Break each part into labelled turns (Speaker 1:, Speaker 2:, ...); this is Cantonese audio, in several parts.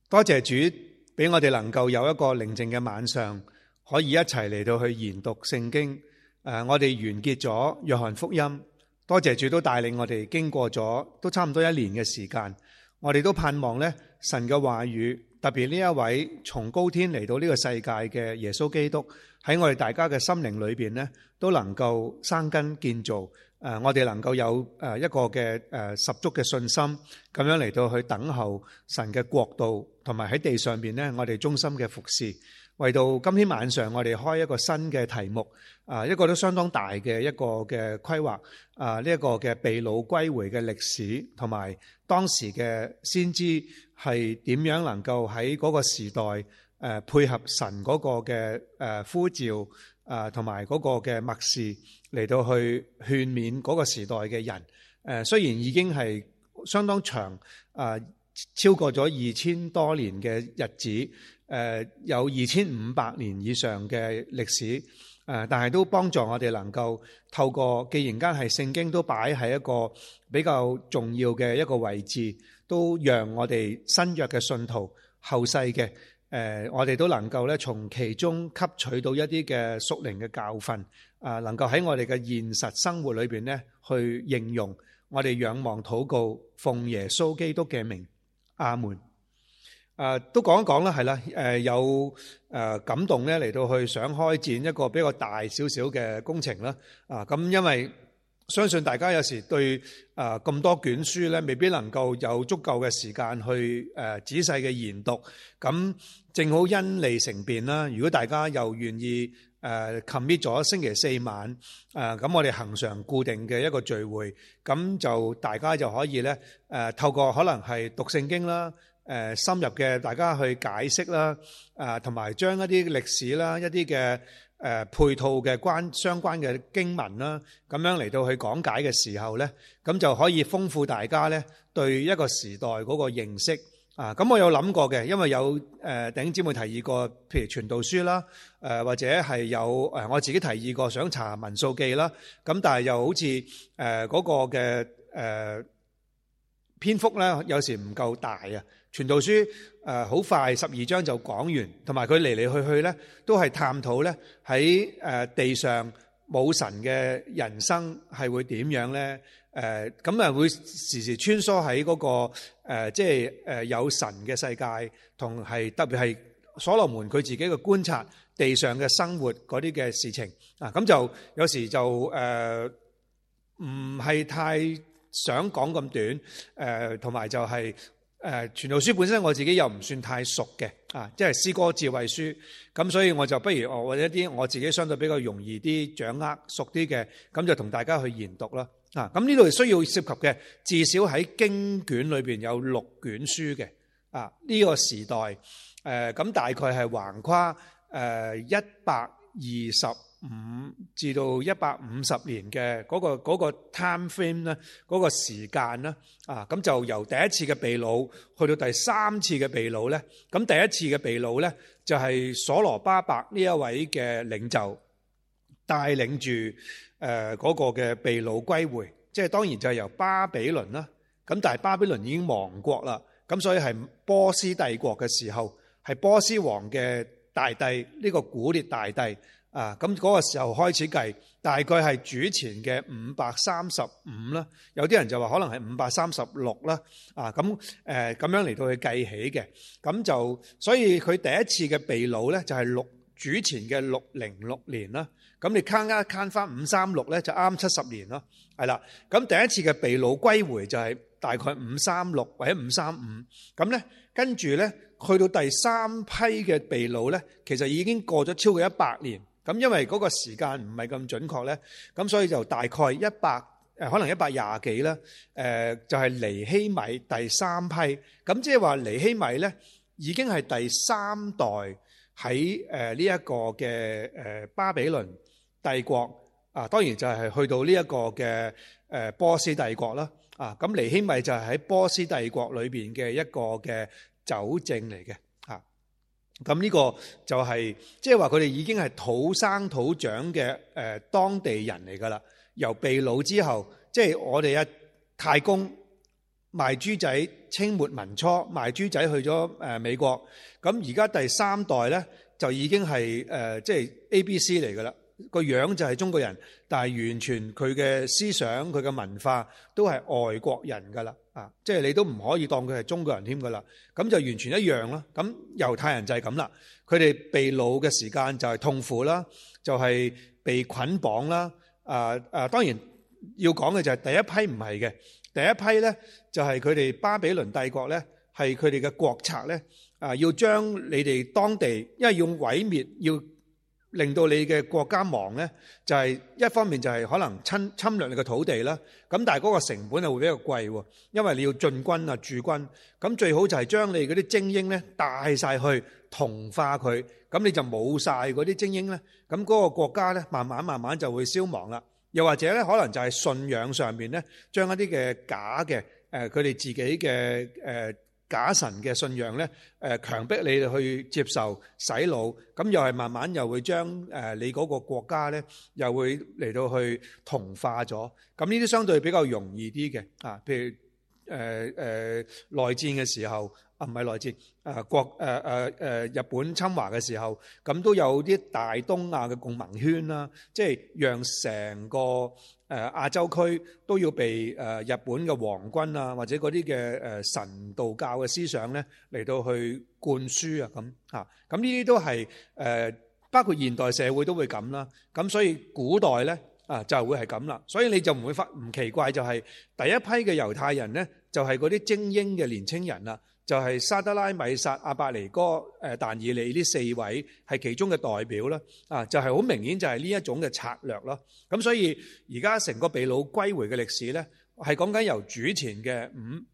Speaker 1: 多謝主俾我哋能夠有一個寧靜嘅晚上，可以一齊嚟到去研讀聖經。我哋完結咗約翰福音，多謝主都帶領我哋經過咗都差唔多1年嘅時間。我哋都盼望咧神嘅話語，特別呢一位從高天嚟到呢個世界嘅耶穌基督，喺我哋大家嘅心靈裏邊咧，都能夠生根建造。我哋能夠有一個嘅十足嘅信心，咁樣嚟到去等候神嘅國度，同埋喺地上邊呢，我哋忠心嘅服侍。為到今天晚上，我哋開一個新嘅題目，一個都相當大嘅一個嘅規劃。呢一個嘅被擄歸回嘅歷史，同埋當時嘅先知係點樣能夠喺嗰個時代配合神嗰個嘅呼召，同埋嗰個嘅默示嚟到去勸勉嗰個時代嘅人。雖然已經係相當長，超過咗2000多年嘅日子，有2500年以上嘅歷史，但係都幫助我哋能夠透過，既然間係聖經都擺喺一個比較重要嘅一個位置，都讓我哋新約嘅信徒後世嘅，我哋都能夠咧從其中吸取到一啲嘅屬靈嘅教訓，能夠喺我哋嘅現實生活裏邊咧去應用。我哋仰望禱告，奉耶穌基督嘅名，阿門。都講一講啦，係啦，有感動咧嚟到去想開展一個比較大少少嘅工程啦。咁因為相信大家有時對咁多卷書咧，未必能夠有足夠嘅時間去仔細嘅研讀。咁正好因利成便啦。如果大家又願意commit 咗星期4晚，咁我哋恆常固定嘅一個聚會，咁就大家就可以咧透過可能係讀聖經啦。深入嘅大家去解釋啦，同埋將一啲歷史啦、一啲嘅配套嘅相關嘅經文啦，咁樣嚟到去講解嘅時候咧，咁就可以豐富大家咧對一個時代嗰個認識。咁我有諗過嘅，因為有弟兄姊妹提議過，譬如傳道書啦，或者係有我自己提議過想查民數記啦，咁但係又好似嗰個嘅篇幅咧，有時唔夠大啊。傳道書好快12章就講完，同埋佢嚟嚟去去咧都係探討咧喺地上冇神嘅人生係會點樣咧？咁啊會時時穿梭喺嗰個即係有神嘅世界，同係特別係所羅門佢自己嘅觀察地上嘅生活嗰啲嘅事情啊，咁就有時就唔係太想講咁短，同埋就係。傳道書本身我自己又唔算太熟嘅，即係詩歌智慧書，咁所以我就不如或者一啲我自己相對比較容易啲掌握熟啲嘅，咁就同大家去研讀啦。咁呢度需要涉及嘅至少喺經卷裏邊有6卷書嘅，呢個時代，咁大概係橫跨125至到150年嘅嗰個 time frame 咧，嗰個時間啦，咁就由第一次嘅被擄去到第3次嘅被擄咧，咁第一次嘅被擄咧就係所羅巴伯呢一位嘅領袖帶領住嗰個嘅被擄歸回，即係當然就係由巴比倫啦，咁但係巴比倫已經亡國啦，咁所以係波斯帝國嘅時候，係波斯王嘅大帝呢個古列大帝。咁嗰個時候開始計，大概係主前嘅535啦，有啲人就話可能係536啦，咁咁樣嚟到去計起嘅，咁就所以佢第一次嘅被擄咧就係主前嘅606年啦，咁你慳一慳翻536咧就啱70年咯，係啦，咁第一次嘅被擄歸回就係大概536或者535，咁咧跟住咧去到第3批嘅被擄咧，其實已經過咗超過100年。咁因為嗰個時間唔係咁準確咧，咁所以就大概可能120幾啦，就係尼希米第3批，咁即係話尼希米咧已經係第3代喺呢一個嘅巴比倫帝國，當然就係去到呢一個嘅波斯帝國啦，咁尼希米就係喺波斯帝國裏邊嘅一個嘅酒政嚟嘅。咁呢個就係即係話佢哋已經係土生土長嘅當地人嚟噶啦。由被擄之後，即係我哋太公賣豬仔清末民初賣豬仔去咗美國，咁而家第3代咧就已經係即係 ABC 嚟噶啦，個樣就係中國人，但係完全佢嘅思想佢嘅文化都係外國人噶啦，即係你都唔可以當佢係中國人添噶啦，咁就完全一樣啦。咁猶太人就係咁啦，佢哋被擄嘅時間就係痛苦啦，就係被捆綁啦。當然要講嘅就係第一批唔係嘅。第一批咧就係佢哋巴比倫帝國咧，係佢哋嘅國策咧，要將你哋當地，因為要毀滅，要令到你嘅國家亡咧，就係一方面就係可能侵略你嘅土地啦，咁但係嗰個成本係會比較貴喎，因為你要進軍啊駐軍，咁最好就係將你嗰啲精英咧帶晒去同化佢，咁你就冇晒嗰啲精英咧，咁嗰個國家咧慢慢就會消亡啦。又或者咧，可能就係信仰上面咧，將一啲嘅假嘅佢哋自己嘅假神嘅信仰咧，強迫你哋去接受洗腦，咁又係慢慢又會將你嗰個國家咧，又會嚟到去同化咗。咁呢啲相對比較容易啲嘅譬如內戰嘅時候。唔係內戰，日本侵華嘅時候，咁都有啲大東亞嘅共盟圈啦，即係讓成個亞洲區都要被日本嘅皇軍啊，或者嗰啲嘅神道教嘅思想咧嚟到去灌輸啊，咁呢啲都係包括現代社會都會咁啦，咁所以古代咧就會係咁啦，所以你就唔會唔奇怪，就係第一批嘅猶太人咧，就係嗰啲精英嘅年青人啦。就係沙得拉、米煞、亞伯尼哥、但以理呢4位係其中嘅代表啦，就係好明顯就係呢一種嘅策略咯。咁所以而家成個被擄歸回嘅歷史咧，係講緊由主前嘅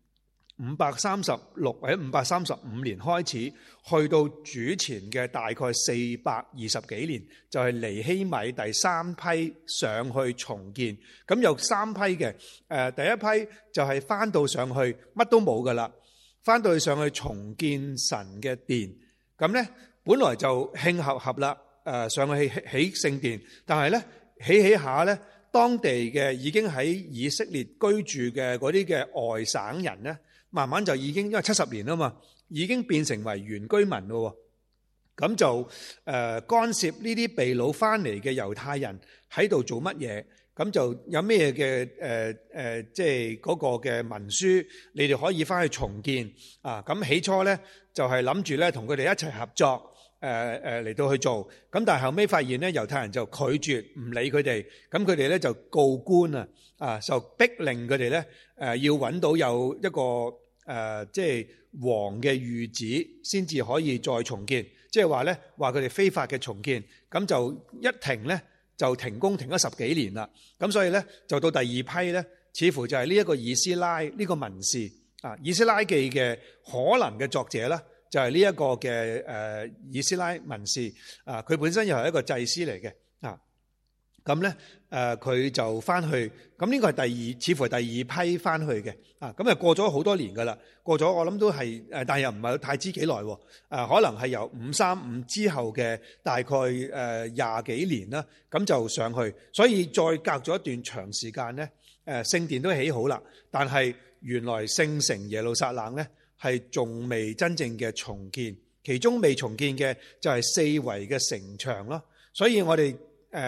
Speaker 1: 536或者535年開始，去到主前嘅大概420幾年，就係尼希米第3批上去重建。咁有3批嘅，第一批就係翻到上去乜都冇噶啦。翻到去上去重建神嘅殿，咁咧本來就慶合合啦，上去起聖殿，但係咧起下咧，當地嘅已經喺以色列居住嘅嗰啲嘅外省人咧，慢慢就已經因為70年啊嘛，已經變成為原居民咯，咁就干涉呢啲被擄翻嚟嘅猶太人喺度做乜嘢？咁就有咩嘅即係嗰個嘅文書，你哋可以翻去重建啊！咁起初咧就係諗住咧同佢哋一齊合作，嚟到去做。咁但係後尾發現咧，猶太人就拒絕唔理佢哋，咁佢哋咧就告官就逼令佢哋咧要揾到有一個即係王嘅諭旨，先至可以再重建。即係話咧話佢哋非法嘅重建，咁就一停咧。就停工停咗10幾年啦，咁所以咧就到第二批咧，似乎就係呢一個以斯拉呢個文士以斯拉記嘅可能嘅作者啦，就係呢一個嘅以斯拉文士佢本身又係一個祭司嚟嘅咁咧佢就翻去，咁呢個係似乎係第二批翻去嘅咁過咗好多年噶啦，過咗我諗都係但係又唔係太知幾耐可能係由535之後嘅大概20幾年啦，咁就上去，所以再隔咗一段長時間咧聖殿都起好啦，但係原來聖城耶路撒冷咧係仲未真正嘅重建，其中未重建嘅就係四圍嘅城牆咯，所以我哋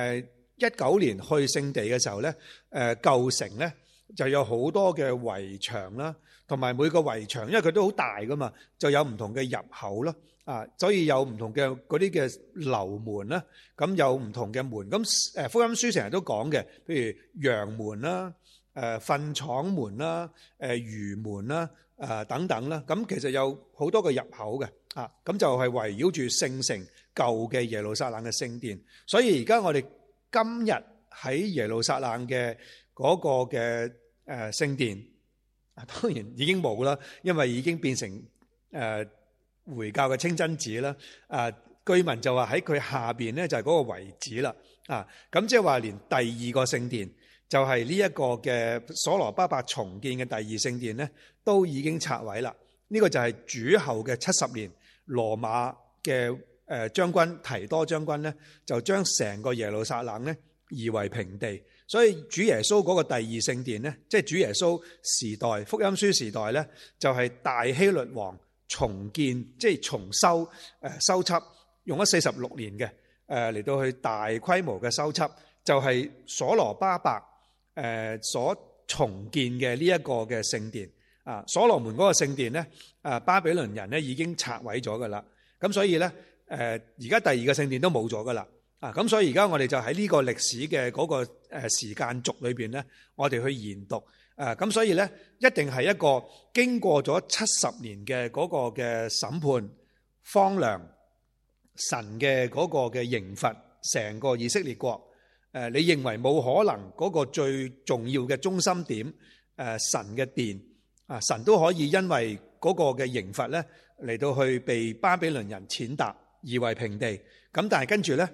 Speaker 1: 19年去聖地嘅時候咧，舊城咧就有好多嘅圍牆啦，同埋每個圍牆，因為佢都好大噶嘛，就有唔同嘅入口啦，所以有唔同嘅嗰啲嘅樓門啦，咁有唔同嘅門，咁福音書成日都講嘅，譬如羊門啦、糞廠門啦、魚門啦、等等啦，咁其實有好多個入口嘅，咁就係圍繞住聖城舊嘅耶路撒冷嘅聖殿，所以而家我哋今日喺耶路撒冷嘅嗰個嘅聖殿，當然已經冇啦，因為已經變成回教嘅清真寺啦。據聞就話喺佢下邊咧就係嗰個遺址啦。咁即係話連第二個聖殿，就係呢一個嘅所羅巴伯重建嘅第二聖殿咧，都已經拆毀啦。呢個就係主後嘅70年，羅馬嘅將軍提多將軍咧，就將成個耶路撒冷咧夷為平地， 所以主耶穌嗰個第二聖殿咧，即係主耶穌時代福音書時代咧，就係大希律王重建，即係重修修葺，用咗46年嘅嚟到去大規模嘅修葺，就係所羅巴伯所重建嘅呢一個嘅聖殿啊。所羅門嗰個聖殿咧，巴比倫人咧已經拆毀咗噶啦，咁所以咧而家第二個聖殿都冇咗噶啦。咁所以而家我哋就喺呢個歷史嘅嗰個時間軸裏邊咧，我哋去研讀。咁所以咧，一定係一個經過咗70年嘅嗰個嘅審判、荒涼、神嘅嗰個嘅刑罰，成個以色列國。你認為冇可能嗰個最重要嘅中心點，神嘅殿啊，神都可以因為嗰個嘅刑罰咧嚟到去被巴比倫人踐踏，夷為平地。咁但係跟住咧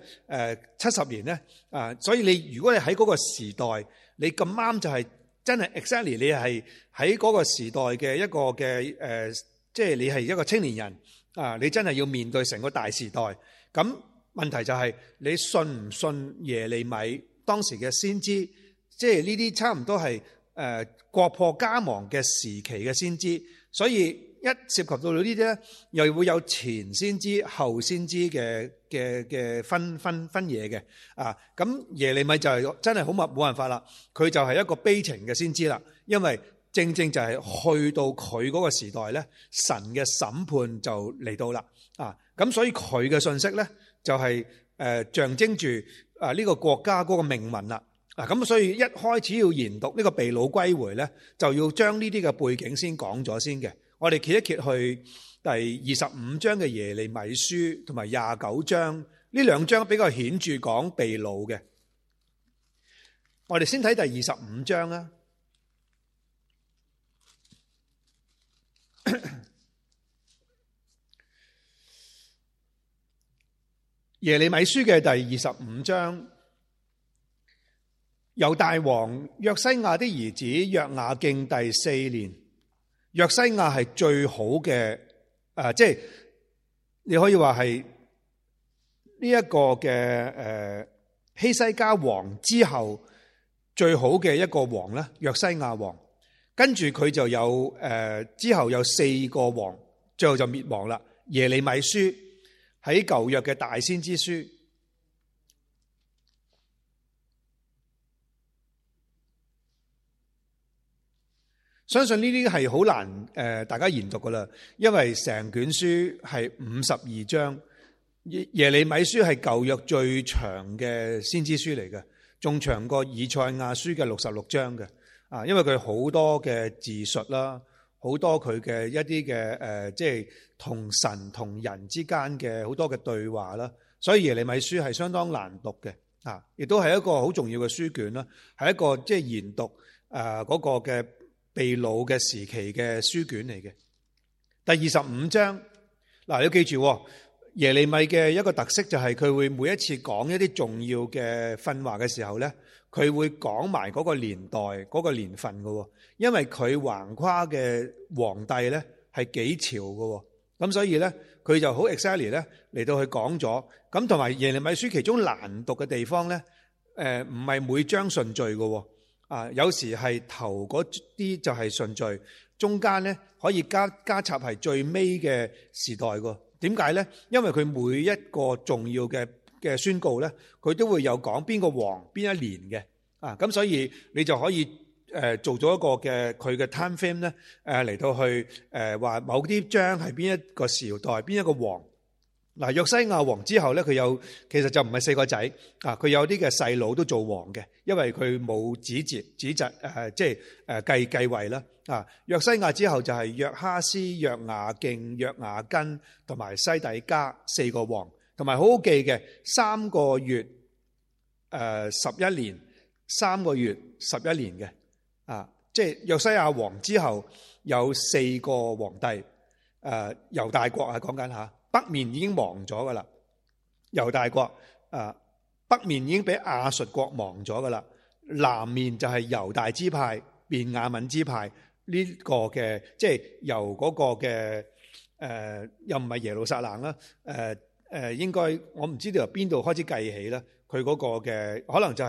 Speaker 1: ，70年咧，所以你如果你喺嗰個時代，你咁啱就係真係 exactly 你係喺嗰個時代嘅一個嘅即係你係一個青年人啊，你真係要面對成個大時代。咁問題就係你信唔信耶利米當時嘅先知？即係呢啲差唔多係國破家亡嘅時期嘅先知，所以一涉及到呢啲咧，又會有前先知、後先知嘅分野嘅啊。咁耶利米就係真係好冇辦法啦，佢就係一個悲情嘅先知啦，因為正正就係去到佢嗰個時代咧，神嘅審判就嚟到啦啊。咁所以佢嘅信息咧就係象徵住呢個國家嗰個命運啦。咁所以一開始要研讀呢個被擄歸回咧，就要將呢啲嘅背景先講咗先嘅。我哋揭一揭去第25章嘅耶利米書，同埋29章，呢兩章比較顯著講被擄嘅。我哋先睇第25章啦。耶利米書嘅第25章，猶大王約西亞的兒子約雅敬第4年。約西亞係最好嘅，即係你可以話係呢一個嘅希西家王之後最好嘅一個王咧。約西亞王跟住佢就有之後有4個王，最後就滅亡啦。耶利米書喺舊約嘅大先知書。相信呢啲係好難大家研讀噶啦，因為成卷書係52章，耶利米書係舊約最長嘅先知書嚟嘅，仲長過以賽亞書嘅66章嘅啊，因為佢好多嘅自述啦，好多佢嘅一啲嘅即係同神同人之間嘅好多嘅對話啦，所以耶利米書係相當難讀嘅啊，亦都係一個好重要嘅書卷啦，係一個即係研讀嗰個嘅被擄嘅時期嘅書卷嚟嘅。第25章嗱，你要記住耶利米嘅一個特色就係佢會每一次講一啲重要嘅訓話嘅時候咧，佢會講埋嗰個年代嗰個年份嘅，因為佢橫跨嘅皇帝咧係幾朝嘅，咁所以咧佢就好 exactly 咧嚟到去講咗。咁同埋耶利米書其中難讀嘅地方咧，唔係每章順序嘅。有時係頭嗰啲就係順序，中間咧可以加插係最尾嘅時代喎。點解咧？因為佢每一個重要嘅宣告咧，佢都會有講邊個王邊一年嘅。咁所以你就可以做咗一個嘅佢嘅 time frame 咧，嚟到去話某啲章係邊一個時代邊一個王。嗱，約西亞王之後咧，佢有其實就唔係4個仔啊，佢有啲嘅細佬都做王嘅，因為佢冇子侄即係繼位啦啊。約西亞之後就係約哈斯、約雅敬、約雅斤同埋西底家4個王，同埋好好記嘅3個月11年，3個月11年嘅啊，即係約西亞王之後有4個皇帝，猶大國講緊吓。北面已經亡咗噶啦，猶大國北面已經俾亞述國亡咗噶啦，南面就係猶大支派、便雅憫支派呢個嘅，即係由嗰個嘅又唔係耶路撒冷啦，應該我唔知道由邊度開始計起啦，佢嗰個嘅可能就係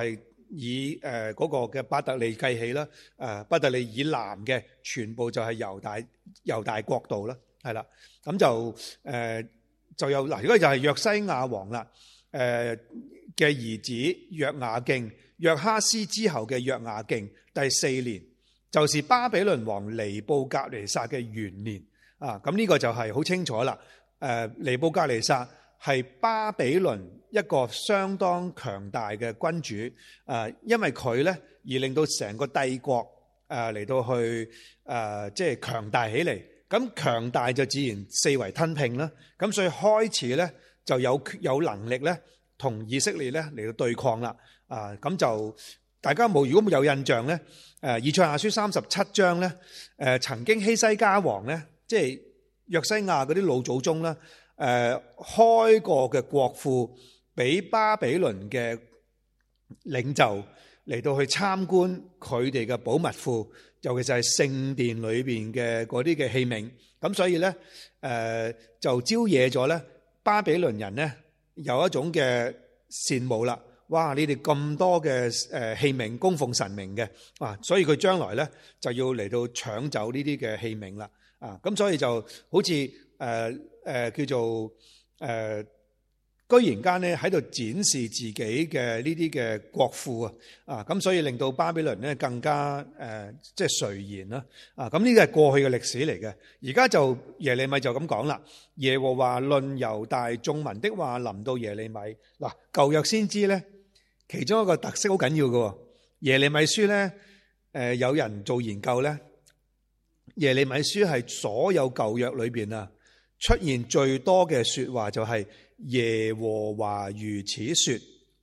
Speaker 1: 嗰個嘅伯特利計起啦，伯特利以南嘅全部就係猶大國度啦，係啦，咁就有嗱，如果就係約西亞王啦，嘅兒子約雅敬，約哈斯之後嘅約雅敬第4年，就是巴比倫王尼布甲尼撒嘅元年啊，咁呢個就係好清楚啦。尼布甲尼撒係巴比倫一個相當強大嘅君主，因為佢咧而令到成個帝國嚟到去即係強大起嚟，咁強大就自然四圍吞併啦，咁所以開始咧就有能力咧同以色列咧嚟到對抗啦，咁就大家如果冇有印象咧，以賽亞書37章咧，曾經希西家王咧，即係約西亞嗰啲老祖宗啦，開過嘅國庫俾巴比倫嘅領袖嚟到去參觀佢哋嘅寶物庫，尤其是係聖殿裏邊嘅嗰啲嘅器皿，咁所以咧就招惹咗咧巴比倫人咧有一種嘅羨慕啦。哇！你哋咁多嘅器皿供奉神明嘅，所以佢將來咧就要嚟到搶走呢啲嘅器皿啦。咁所以就好似叫做居然間咧喺度展示自己嘅呢啲嘅國庫咁所以令到巴比倫咧更加即係垂涎啦。咁呢個係過去嘅歷史嚟嘅。而家就耶利米就咁講啦。耶和華論猶大眾民的話臨到耶利米。嗱，舊約先知咧。其中一個特色好緊要嘅，耶利米書咧，有人做研究咧，耶利米書係所有舊約裏邊出現最多嘅說話就係耶和華如此說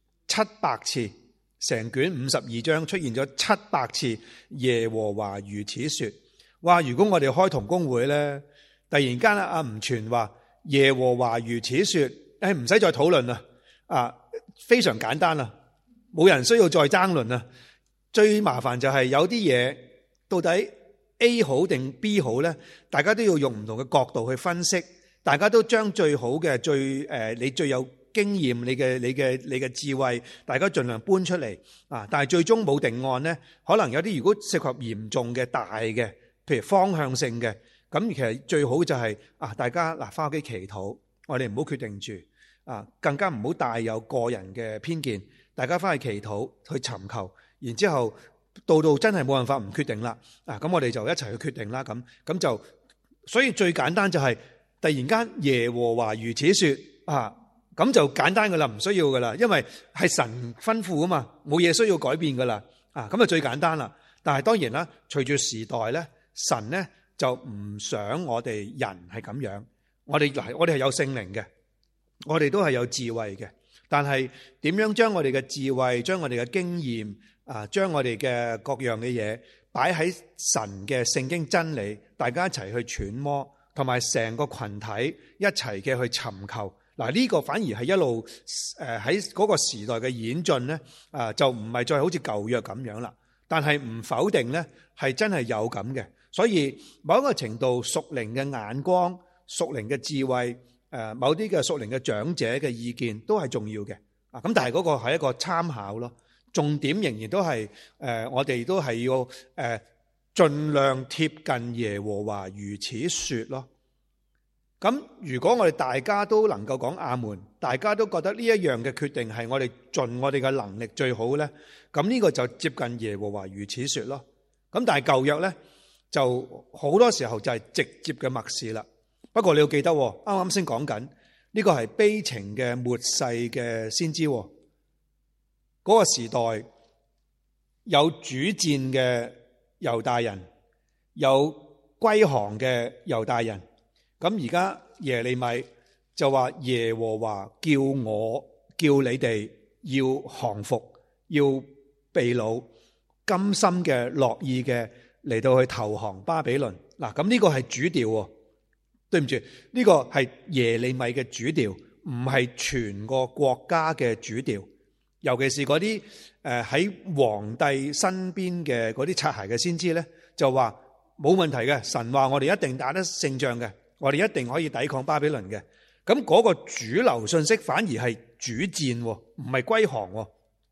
Speaker 1: 700次，成卷52章出現咗700次耶和華如此說。哇！如果我哋開同工會咧，突然間阿吳傳話耶和華如此說，唔使再討論啦，非常簡單啦。冇人需要再爭論啦。最麻煩就係有啲嘢到底 A 好定 B 好咧，大家都要用唔同嘅角度去分析，大家都將最好嘅你最有經驗，你嘅智慧，大家盡量搬出嚟但係最終冇定案咧，可能有啲如果涉及嚴重嘅大嘅，譬如方向性嘅，咁其實最好就係大家翻屋企祈禱，我哋唔好決定住更加唔好帶有個人嘅偏見。大家翻去祈禱，去尋求，然之後到真係冇辦法唔決定啦。咁我哋就一齊去決定啦。咁就所以最簡單就係突然間耶和華如此說咁就簡單噶啦，唔需要噶啦，因為係神吩咐啊嘛，冇嘢需要改變噶啦。咁就最簡單啦。但係當然啦，隨住時代咧，神咧就唔想我哋人係咁樣。我哋係有聖靈嘅，我哋都係有智慧嘅。但係點樣將我哋嘅智慧、將我哋嘅經驗將我哋嘅各樣嘅嘢擺喺神嘅聖經真理，大家一齊去揣摩，同埋成個群體一齊嘅去尋求。呢個反而係一路喺嗰個時代嘅演進咧，就唔係再好似舊約咁樣啦。但係唔否定咧，係真係有咁嘅。所以某一個程度屬靈嘅眼光、屬靈嘅智慧。某啲嘅屬靈嘅長者嘅意見都係重要嘅，咁但係嗰個係一個參考咯，重點仍然都係我哋都係要盡量貼近耶和華如此說咯。咁如果我哋大家都能夠講阿門，大家都覺得呢一樣嘅決定係我哋盡我哋嘅能力最好咧，咁呢個就接近耶和華如此說咯。咁但係舊約咧就好多時候就係直接嘅默示啦。不過你要記得，啱啱先講緊呢個係悲情嘅末世嘅先知，嗰個時代有主戰嘅猶大人，有歸降嘅猶大人。咁而家耶利米就話耶和華叫你哋要降服，要被擄，甘心嘅樂意嘅嚟到去投降巴比倫。咁呢個係主調。對唔住，呢個係耶利米嘅主調，唔係全個國家嘅主調。尤其是嗰啲喺皇帝身邊嘅嗰啲擦鞋嘅先知咧，就話冇問題嘅，神話我哋一定打得勝仗嘅，我哋一定可以抵抗巴比倫嘅。咁嗰個主流信息反而係主戰，唔係歸降。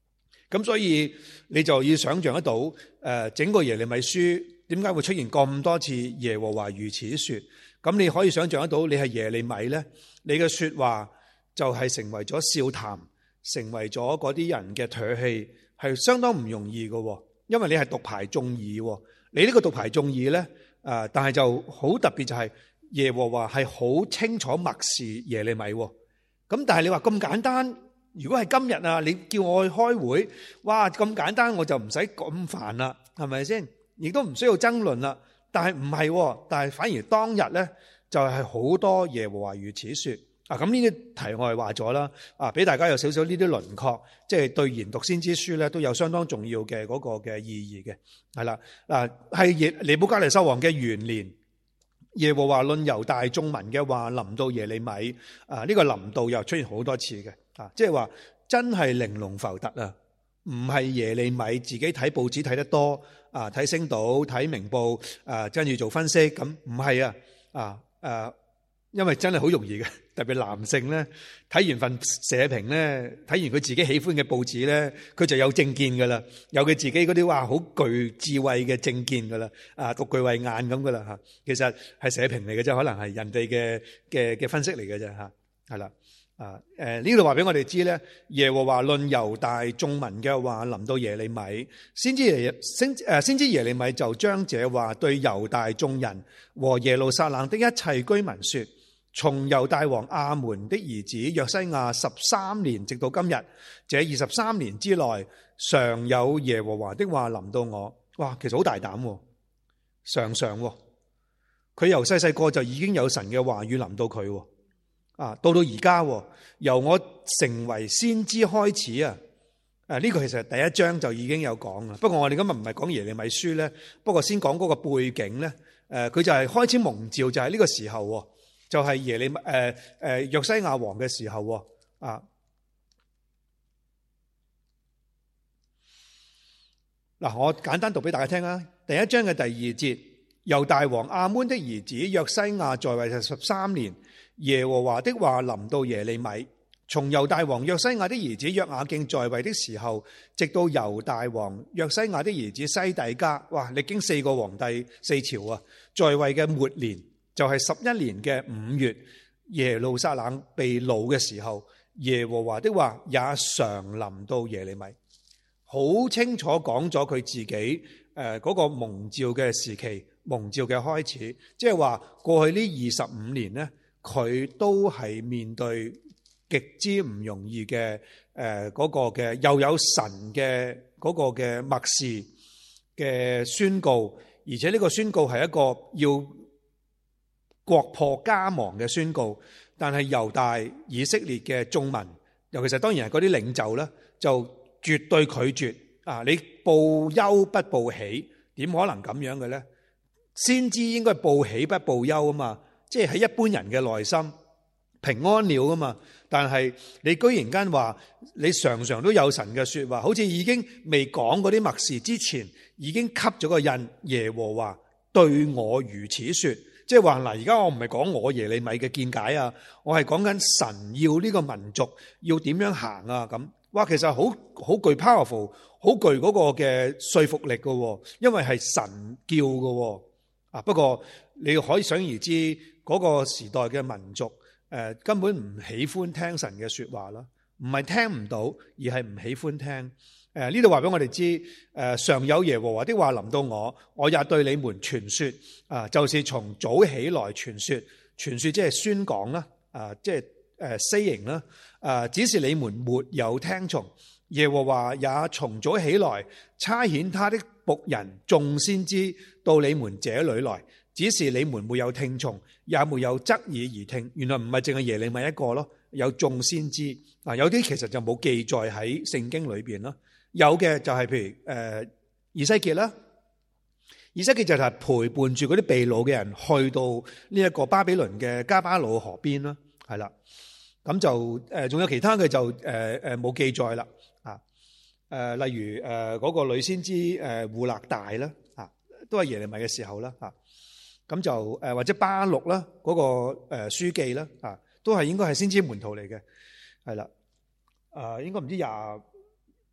Speaker 1: 咁所以你就要想象得到，整個耶利米書點解會出現咁多次耶和華如此說？咁你可以想象得到，你係耶利米咧，你嘅說話就係成為咗笑談，成為咗嗰啲人嘅唾棄，係相當唔容易嘅。因為你係獨排眾議，你呢個獨排眾議咧，但係就好特別就係耶和華係好清楚默示耶利米。咁但係你話咁簡單，如果係今日啊，你叫我去開會，哇咁簡單我就唔使咁煩啦，係咪先？亦都唔需要爭論啦。但係唔係，但係反而當日咧就係好多耶和華如此說。咁呢啲題外話咗啦，俾大家有少少呢啲輪廓，即係對研讀先知書咧都有相當重要嘅嗰個嘅意義嘅，係啦。係尼布甲尼撒王嘅元年，耶和華論猶大眾民嘅話臨到耶利米，呢個臨到又出現好多次嘅，即係話真係玲瓏浮凸啊，唔係耶利米自己睇報紙睇得多，睇星島睇明報，跟住做分析，咁唔係因為真係好容易嘅。特別男性咧，睇完份社評咧，睇完佢自己喜歡嘅報紙咧，佢就有政見噶啦，有佢自己嗰啲好具智慧嘅政見噶啦，獨具慧眼咁噶啦吓。其實係社評嚟嘅啫，可能係人哋嘅分析嚟嘅啫吓，係啦。呢度話俾我哋知咧，耶和華論猶大眾民嘅話臨到耶利米，先知耶利米就將這話對猶大眾人和耶路撒冷的一切居民說。從猶大王亞門的兒子約西亞13年直到今日，這23年之內，常有耶和華的話臨到我。哇，其實好大膽，常佢由細細個就已經有神嘅話語臨到佢，到而家由我成為先知開始啊，呢個其實第一章就已經有講啦。不過我哋今日唔係講耶利米書咧，不過先講嗰個背景咧，佢就係開始蒙召，就係呢個時候。就係耶利米約西亞王嘅時候嗱，我簡單讀俾大家聽啊。第一章嘅第2節，猶大王亞捫的兒子約西亞在位13年，耶和華的話臨到耶利米。從猶大王約西亞的兒子約雅敬在位的時候，直到猶大王約西亞的兒子西底家，哇，歷經4個皇帝4朝啊，在位嘅末年。就係11年嘅5月，耶路撒冷被擄嘅時候，耶和華的話也常臨到耶利米，好清楚講咗佢自己嗰個蒙召嘅時期，蒙召嘅開始，即係話過去呢25年呢，佢都係面對極之唔容易嘅嗰個嘅，又有神嘅嗰個嘅默示嘅宣告，而且呢個宣告係一個要國破家亡嘅宣告，但係猶大以色列嘅眾民，尤其是當然係嗰啲領袖咧，就絕對拒絕你報憂不報喜，點可能咁樣嘅咧？先知應該報喜不報憂啊嘛，即係喺一般人嘅內心平安了啊嘛。但係你居然間話你常常都有神嘅說話，好似已經未講嗰啲默示之前，已經吸咗個印，耶和華對我如此說。即係話嗱，而家我唔係講我耶利米嘅見解啊，我係講緊神要呢個民族要點樣行啊咁。哇，其實好具 powerful， 好具嗰個嘅說服力嘅，因為係神叫嘅。不過你可以想而知，嗰個時代嘅民族根本唔喜歡聽神嘅說話啦，唔係聽唔到，而係唔喜歡聽。呢度話俾我哋知，常有耶和華的話臨到我，我也對你們傳說，就是從早起來傳說，傳說即係宣講啦，即係saying啦，只是你們沒有聽從。耶和華也從早起來差遣他的僕人眾先知到你們這裏來，只是你們沒有聽從，也沒有側耳而聽。原來唔係淨係耶利米一個咯，有眾先知，有啲其實就冇記載喺聖經裏邊咯。有嘅就係譬如以西結啦，以西結就係陪伴住嗰啲被擄嘅人去到呢一個巴比倫嘅加巴魯河邊啦，係啦，咁就仲有其他嘅就冇記載啦，例如嗰個女先知戶勒大啦，都係耶利米嘅時候啦，咁就或者巴錄啦，嗰個書記啦，都係應該係先知門徒嚟嘅，係啦，應該唔知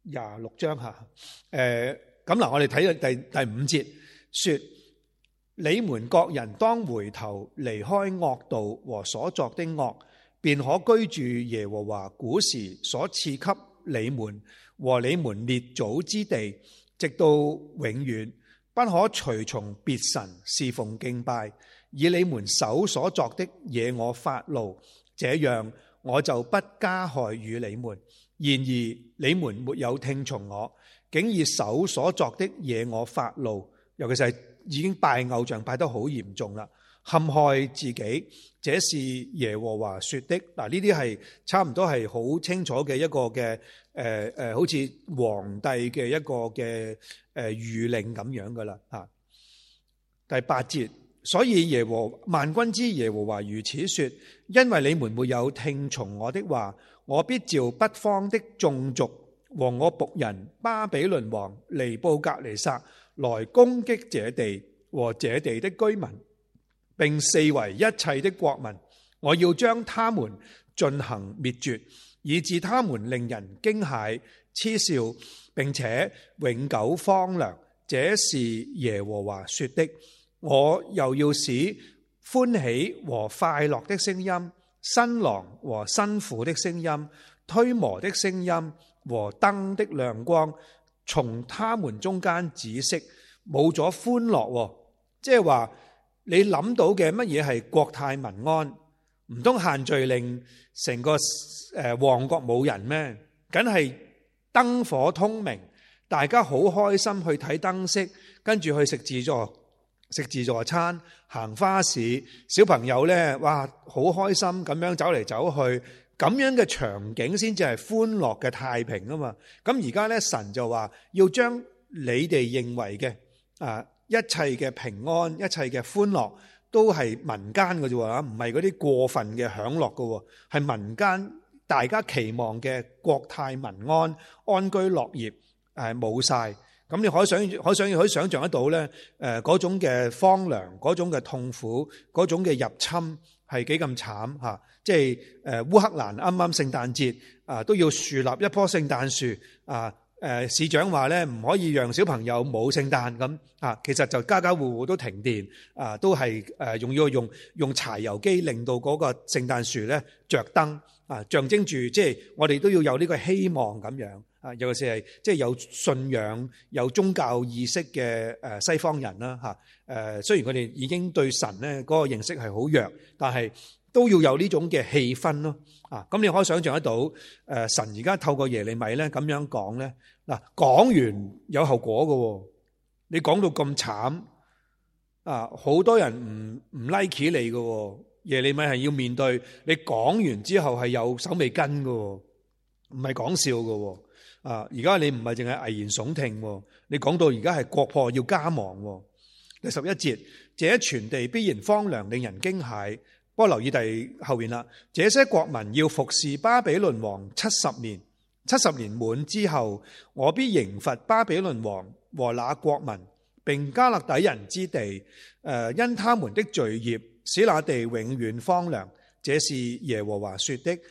Speaker 1: 26章吓。咁嗱，我哋睇第5節，說你們各人當回頭離開惡道和所作的惡，便可居住耶和華古時所賜給你們和你們列祖之地，直到永遠。不可隨從別神侍奉敬拜，以你們手所作的惹我發怒，這樣我就不加害於你們。然而你們沒有聽從我，竟以手所作的惹我發怒，尤其是已經拜偶像拜得好嚴重啦，陷害自己，這是耶和華說的。嗱，呢啲係差唔多係好清楚嘅一個嘅好似皇帝嘅一個嘅諭令咁樣噶啦吓。第8節，所以萬軍之耶和華如此說，因為你們沒有聽從我的話，我必召北方的眾族和我僕人巴比倫王尼布甲尼撒來攻擊這地和這地的居民，並四圍一切的國民。我要將他們進行滅絕，以致他們令人驚駭嗤笑，並且永久荒涼。這是耶和華說的。我又要使歡喜和快樂的聲音、新郎和新婦的聲音、推磨的聲音和燈的亮光從他們中間止息，冇咗歡樂。即係話你諗到嘅乜嘢係國泰民安？唔通限聚令成個旺角冇人咩？梗係燈火通明，大家好開心去睇燈飾，跟住去食自助餐，行花市，小朋友呢，哇，好開心咁樣走嚟走去，咁樣嘅場景先至係歡樂嘅太平啊嘛。咁而家呢，神就話要將你哋認為嘅一切嘅平安、一切嘅歡樂都係民間嘅啫，唔係嗰啲過分嘅享樂嘅，係民間大家期望嘅國泰民安、安居樂業冇晒。咁你可以想象得到咧，嗰種嘅荒涼、嗰種嘅痛苦、嗰種嘅入侵係幾咁慘吓。即係烏克蘭啱啱聖誕節都要樹立一棵聖誕樹市長話咧唔可以讓小朋友冇聖誕咁其實就家家戶戶都停電都係用柴油機令到嗰個聖誕樹咧着燈象徵住即係我哋都要有呢個希望咁樣。尤其是係即係有信仰、有宗教意識嘅西方人啦嚇。雖然佢哋已經對神咧嗰個認識係好弱，但係都要有呢種嘅氣氛咯。咁你可以想象得到，神而家透過耶利米咧咁樣講咧，嗱，講完有後果嘅。你講到咁慘好多人唔 like 你嘅。耶利米係要面對你講完之後係有手尾跟嘅，唔係講笑嘅。而家你唔係淨係危言聳聽，你講到而家係國破要家亡。第11節，這全地必然荒涼，令人驚駭。不過留意第後面啦，這些國民要服侍巴比倫王70年，70年滿之後，我必刑罰巴比倫王和那國民，並加勒底人之地，因他們的罪孽，使那地永遠荒涼。這是耶和華說的。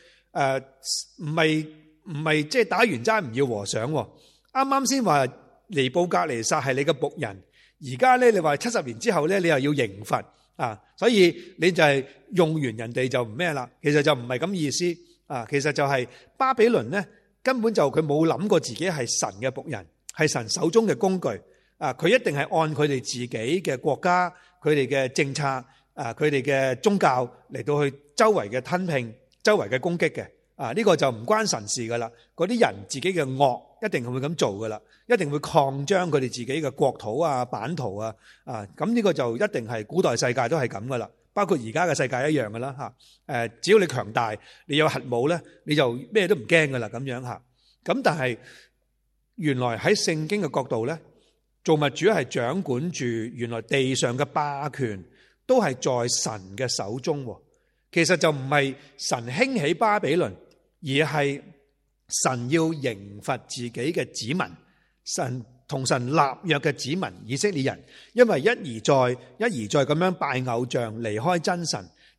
Speaker 1: 唔係即係打完齋唔要和尚。啱啱先話尼布甲尼撒係你嘅僕人，而家咧你話70年之後咧你又要刑罰所以你就係用完人哋就唔咩啦。其實就唔係咁意思其實就係巴比倫咧根本就佢冇諗過自己係神嘅僕人，係神手中嘅工具佢一定係按佢哋自己嘅國家、佢哋嘅政策佢哋嘅宗教嚟到去周圍嘅吞併、周圍嘅攻擊嘅。呢個就唔關神事噶啦，嗰啲人自己嘅惡一定係會咁做噶啦，一定會擴張佢哋自己嘅國土版圖咁呢個就一定係古代世界都係咁噶啦，包括而家嘅世界一樣噶啦只要你強大，你有核武咧，你就咩都唔驚噶啦咁樣咁但係原來喺聖經嘅角度咧，造物主係掌管住原來地上嘅霸權都係在神嘅手中。其實就唔係神興起巴比倫，而係神要刑罰自己嘅子民，神同神立約嘅子民以色列人，因為一而再咁樣拜偶像，離開真神，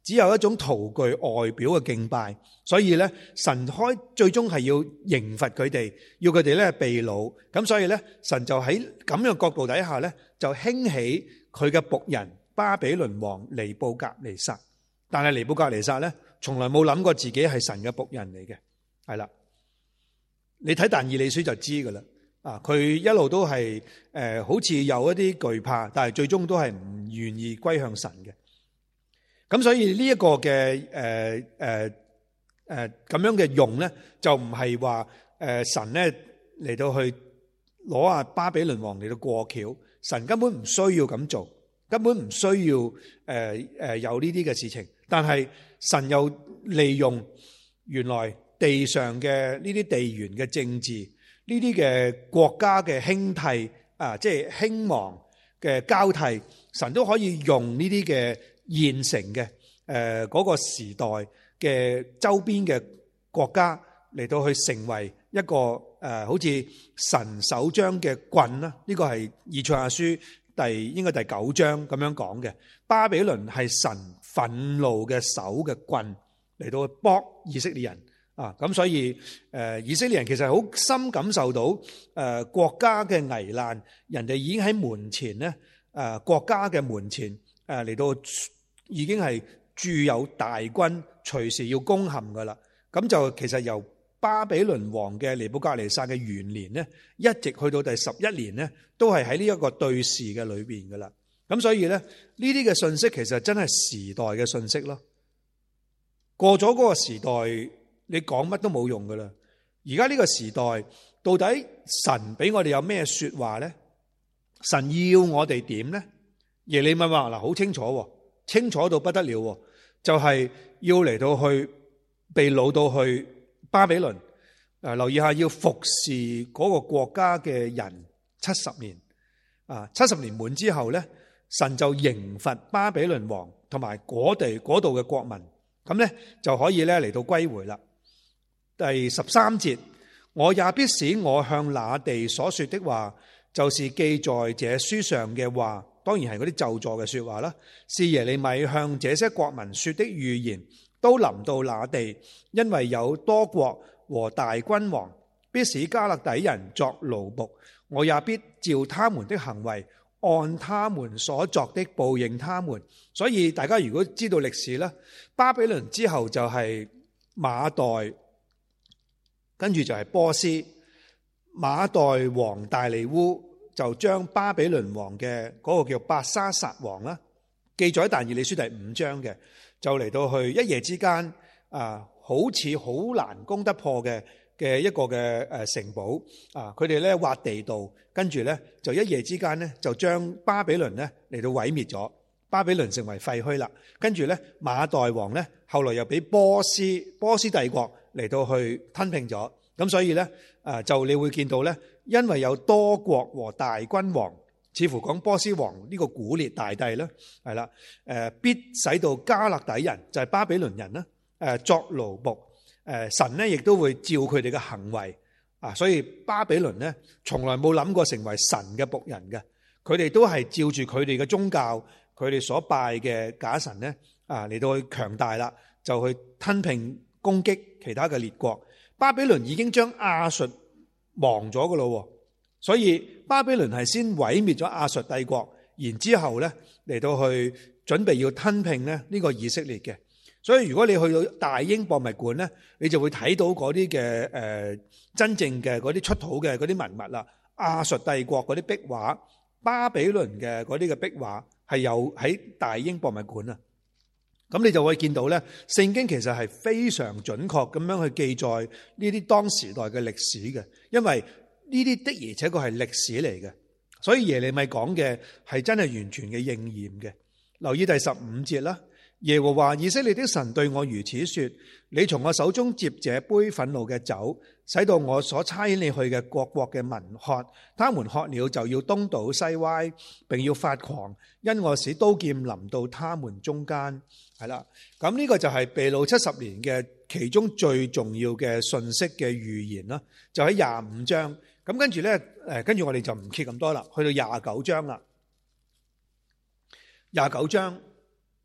Speaker 1: 只有一種徒具外表嘅敬拜，所以咧神最終係要刑罰佢哋，要佢哋咧被擄。咁所以咧神就喺咁樣角度底下咧，就興起佢嘅僕人巴比倫王尼布甲尼撒。但係尼布甲尼撒咧，從來冇諗過自己係神嘅僕人嚟嘅，係啦。你睇但以理書就知噶啦。佢一路都係好似有一啲懼怕，但係最終都係唔願意歸向神嘅。咁所以呢一個嘅咁樣嘅用咧，就唔係話神咧嚟到去攞巴比倫王嚟到過橋，神根本唔需要咁做，根本唔需要有呢啲嘅事情。但係神又利用原來地上嘅呢啲地緣嘅政治，呢啲嘅國家嘅興替即係興亡嘅交替，神都可以用呢啲嘅現成嘅嗰個時代嘅周邊嘅國家嚟到去成為一個好似神手掌嘅棍啦。呢個係以賽亞書應該第9章咁樣講嘅。巴比倫係神憤怒嘅手嘅棍嚟到去幫以色列人咁所以以色列人其實好深感受到國家嘅危難，人哋已經喺門前咧國家嘅門前嚟到已經係駐有大軍，隨時要攻陷噶啦。咁就其實由巴比倫王嘅尼布甲尼撒嘅元年咧，一直去到第11年咧，都係喺呢一個對視嘅裏邊噶啦。咁所以咧，呢啲嘅信息其實真係時代嘅信息咯。過咗嗰個時代，你講乜都冇用噶啦。而家呢個時代，到底神俾我哋有咩說話咧？神要我哋點咧？耶利米話嗱，好清楚，清楚到不得了，就係要嚟到去被擄到去巴比倫。留意下，要服侍嗰個國家嘅人70年。70年滿之後咧，神就刑罰巴比倫王同埋嗰度嘅國民，咁咧就可以咧嚟到歸回啦。第13節，我也必使我向那地所說的話，就是記在這書上嘅話，當然係嗰啲咒詛嘅說話啦，是耶利米向這些國民說的預言，都臨到那地，因為有多國和大君王，必使迦勒底人作奴僕，我也必照他們的行為，按他們所作的報應他們。所以大家如果知道歷史咧，巴比倫之後就係馬代，跟住就係波斯。馬代王大利烏就將巴比倫王嘅嗰個叫伯沙撒王啦，記載喺但以理書第5章嘅，就嚟到去一夜之間好似好難攻得破嘅一個嘅城堡佢哋咧挖地道，跟住咧就一夜之間咧就將巴比倫咧嚟到毀滅咗，巴比倫成為廢墟啦。跟住咧馬代王咧後來又俾波斯帝國嚟到去吞併咗。咁所以咧就你會見到咧，因為有多國和大君王，似乎講波斯王呢個古列大帝咧係啦，必使到迦勒底人就係巴比倫人啦，作奴僕。神咧亦都會照佢哋嘅行為所以巴比倫咧從來冇諗過成為神嘅僕人嘅，佢哋都係照住佢哋嘅宗教，佢哋所拜嘅假神咧嚟到去強大啦，就去吞併攻擊其他嘅列國。巴比倫已經將亞述亡咗噶咯，所以巴比倫係先毀滅咗亞述帝國，然之後咧嚟到去準備要吞併咧呢個以色列嘅。所以如果你去到大英博物館咧，你就會睇到嗰啲嘅真正嘅嗰啲出土嘅嗰啲文物啦，亞述帝國嗰啲壁畫，巴比倫嘅嗰啲嘅壁畫係有喺大英博物館啊。咁你就會見到咧，聖經其實係非常準確咁樣去記載呢啲當時代嘅歷史嘅，因為呢啲的而且確係歷史嚟嘅，所以耶利米講嘅係真係完全嘅應驗嘅。留意第15節啦，耶和華以色列的神對我如此說：你從我手中接這杯憤怒嘅酒，使到我所差遣你去嘅各國嘅民喝，他們喝了就要東倒西歪，並要發狂，因我使刀劍臨到他們中間。係啦，咁呢個就係被擄70年嘅其中最重要嘅信息嘅預言啦，就喺25章。咁跟住咧，跟住我哋就唔揭咁多啦，去到29章啦。29章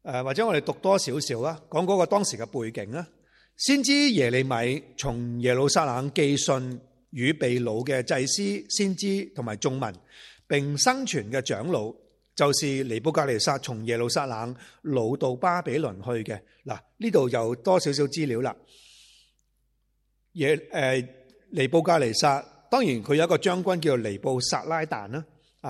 Speaker 1: 或者我哋讀多少少啦，講嗰個當時嘅背景啦。先知耶利米從耶路撒冷寄信與被擄嘅祭司、先知同埋眾民，並生存嘅長老，就是尼布甲尼撒從耶路撒冷擄到巴比倫去嘅。嗱，呢度有多少少資料啦。尼布甲尼撒，當然佢有一個將軍叫做尼布撒拉旦啦，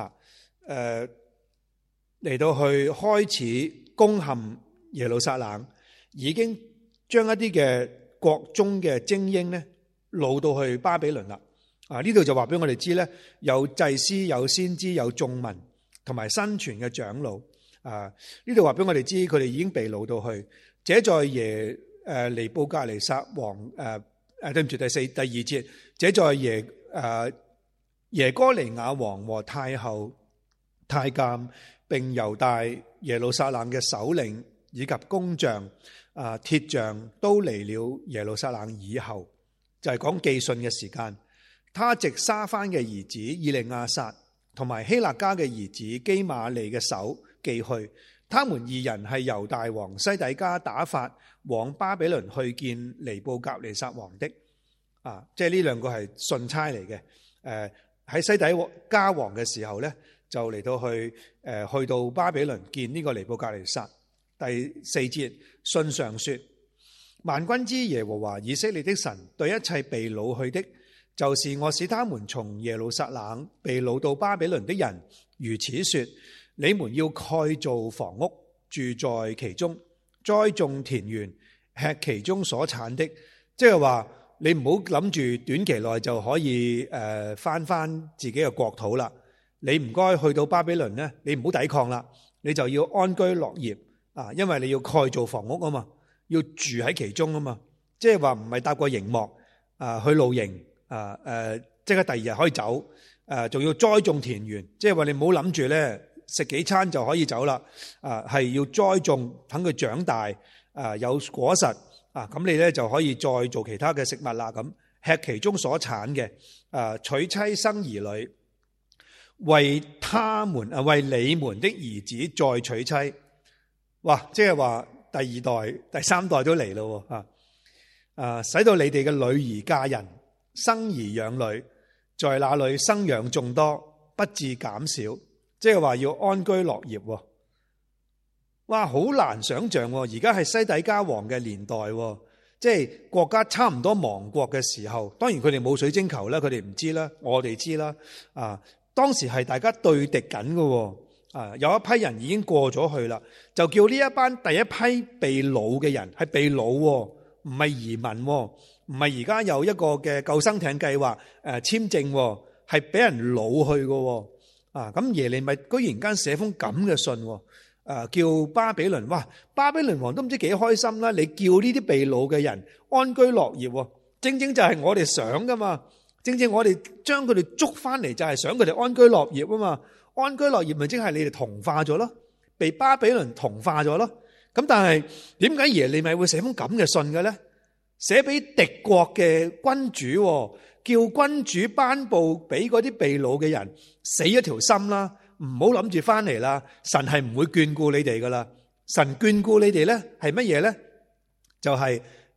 Speaker 1: 嚟到去開始攻陷耶路撒冷，已經將一啲嘅國中嘅精英咧擄到去巴比倫啦。呢度就話俾我哋知咧，有祭司、有先知、有眾民同埋新傳嘅長老。呢度話俾我哋知，佢哋已經被擄到去。這在尼布甲尼撒王對唔住，第二節，這在耶哥尼雅王和太后太監並猶大耶路撒冷嘅首領以及工匠鐵匠都嚟了耶路撒冷以後，就係講寄信嘅時間。他藉沙番嘅兒子以利亞撒同埋希勒家嘅兒子基瑪利嘅手寄去，他們二人係猶大王西底家打發往巴比倫去見尼布甲尼撒王的。即係呢兩個係信差嚟嘅。喺西底家王嘅時候呢，就嚟到去到巴比倫見呢個尼布甲尼撒。第4節，信上說：萬軍之耶和華以色列的神對一切被擄去的，就是我使他們從耶路撒冷被擄到巴比倫的人，如此說：你們要蓋造房屋，住在其中，栽種田園，吃其中所產的。即係話你唔好諗住短期內就可以翻自己嘅國土啦。你唔該去到巴比倫呢，你唔好抵抗啦，你就要安居樂業。因為你要蓋造房屋啊嘛，要住喺其中啊嘛，即係話唔係搭個營幕去露營即刻第二日可以走，仲要栽種田園，即係話你唔好諗住咧食幾餐就可以走啦，係要栽種，等佢長大，有果實，咁你咧就可以再做其他嘅食物啦，咁吃其中所產嘅，娶妻生兒女，為他們為你們的兒子再娶妻。哇！即係話第二代、第三代都嚟咯，使到你哋嘅女兒嫁人、生兒養女，在那裏生養眾多，不致減少。即係話要安居樂業。哇！好難想象，而家係西底家王嘅年代，即係國家差唔多亡國嘅時候。當然佢哋冇水晶球啦，佢哋唔知啦，我哋知啦。當時係大家對敵緊嘅。有一批人已經過咗去啦，就叫呢一班第一批被擄嘅人係被擄，唔係移民，唔係而家有一個嘅救生艇計劃簽證，係俾人擄去嘅。咁耶利米居然間寫封咁嘅信，叫巴比倫，哇！巴比倫王都唔知幾開心啦。你叫呢啲被擄嘅人安居樂業，正正就係我哋想噶嘛，正正我哋將佢哋捉翻嚟就係想佢哋安居樂業啊嘛。安居樂業咪即係你哋同化咗咯，被巴比倫同化咗咯。咁但係點解耶利米會寫封咁嘅信嘅咧？寫俾敵國嘅君主，叫君主頒布俾嗰啲被擄嘅人死一條心啦，唔好諗住翻嚟啦。神係唔會眷顧你哋噶啦，神眷顧你哋咧係乜嘢咧？就係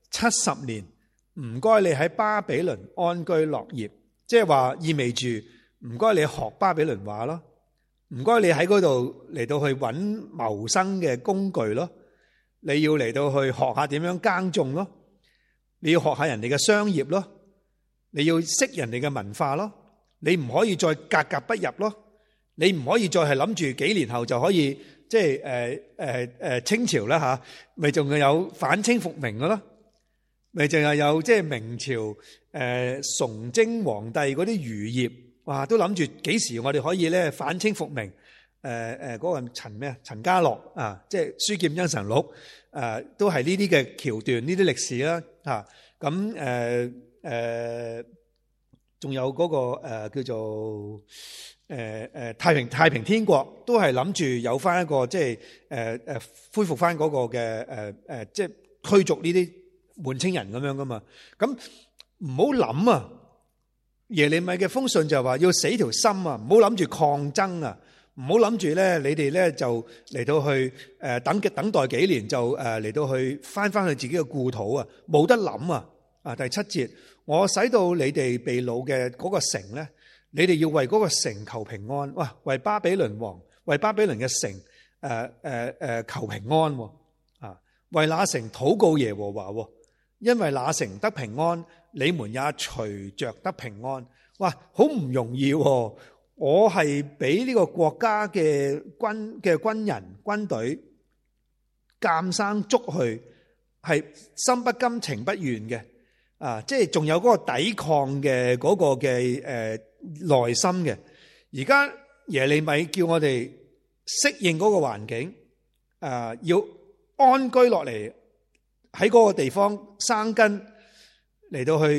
Speaker 1: 70年，唔該你喺巴比倫安居樂業，即係話意味住唔該你學巴比倫話咯。唔該，你喺嗰度嚟到去揾謀生嘅工具咯，你要嚟到去學下點樣耕種咯，你要學下人哋嘅商業咯，你要識人哋嘅文化咯，你唔可以再格格不入咯，你唔可以再係諗住幾年後就可以即係清朝啦吓，咪仲有反清復明嘅咯，咪淨係有即係明朝崇禎皇帝嗰啲餘孽。哇！都諗住幾時我哋可以咧反清復明？嗰個陳家樂即係書劍恩仇錄都係呢啲嘅橋段，呢啲歷史啦嚇。咁仲有嗰個叫做太平天國，都係諗住有翻一個即係恢復翻嗰個嘅即係驅逐呢啲滿清人咁樣噶嘛。咁唔好諗啊！耶利米嘅封信就話要死條心啊，唔好諗住抗爭啊， 唔好諗住咧，你哋咧就嚟到去等待幾年就嚟到去翻去自己嘅故土啊，冇得諗啊！第7節，我使到你哋被擄嘅嗰個城咧，你哋要為嗰個城求平安。哇！為巴比倫王，為巴比倫嘅城求平安啊！為那城禱告耶和華，因為那城得平安，你們也隨着得平安。哇！好唔容易喎。我係俾呢個國家嘅軍人軍隊監生捉去，係心不甘情不願嘅啊！即係仲有嗰個抵抗嘅嗰個嘅內心嘅。而家耶利米叫我哋適應嗰個環境，要安居落嚟喺嗰個地方生根，嚟到去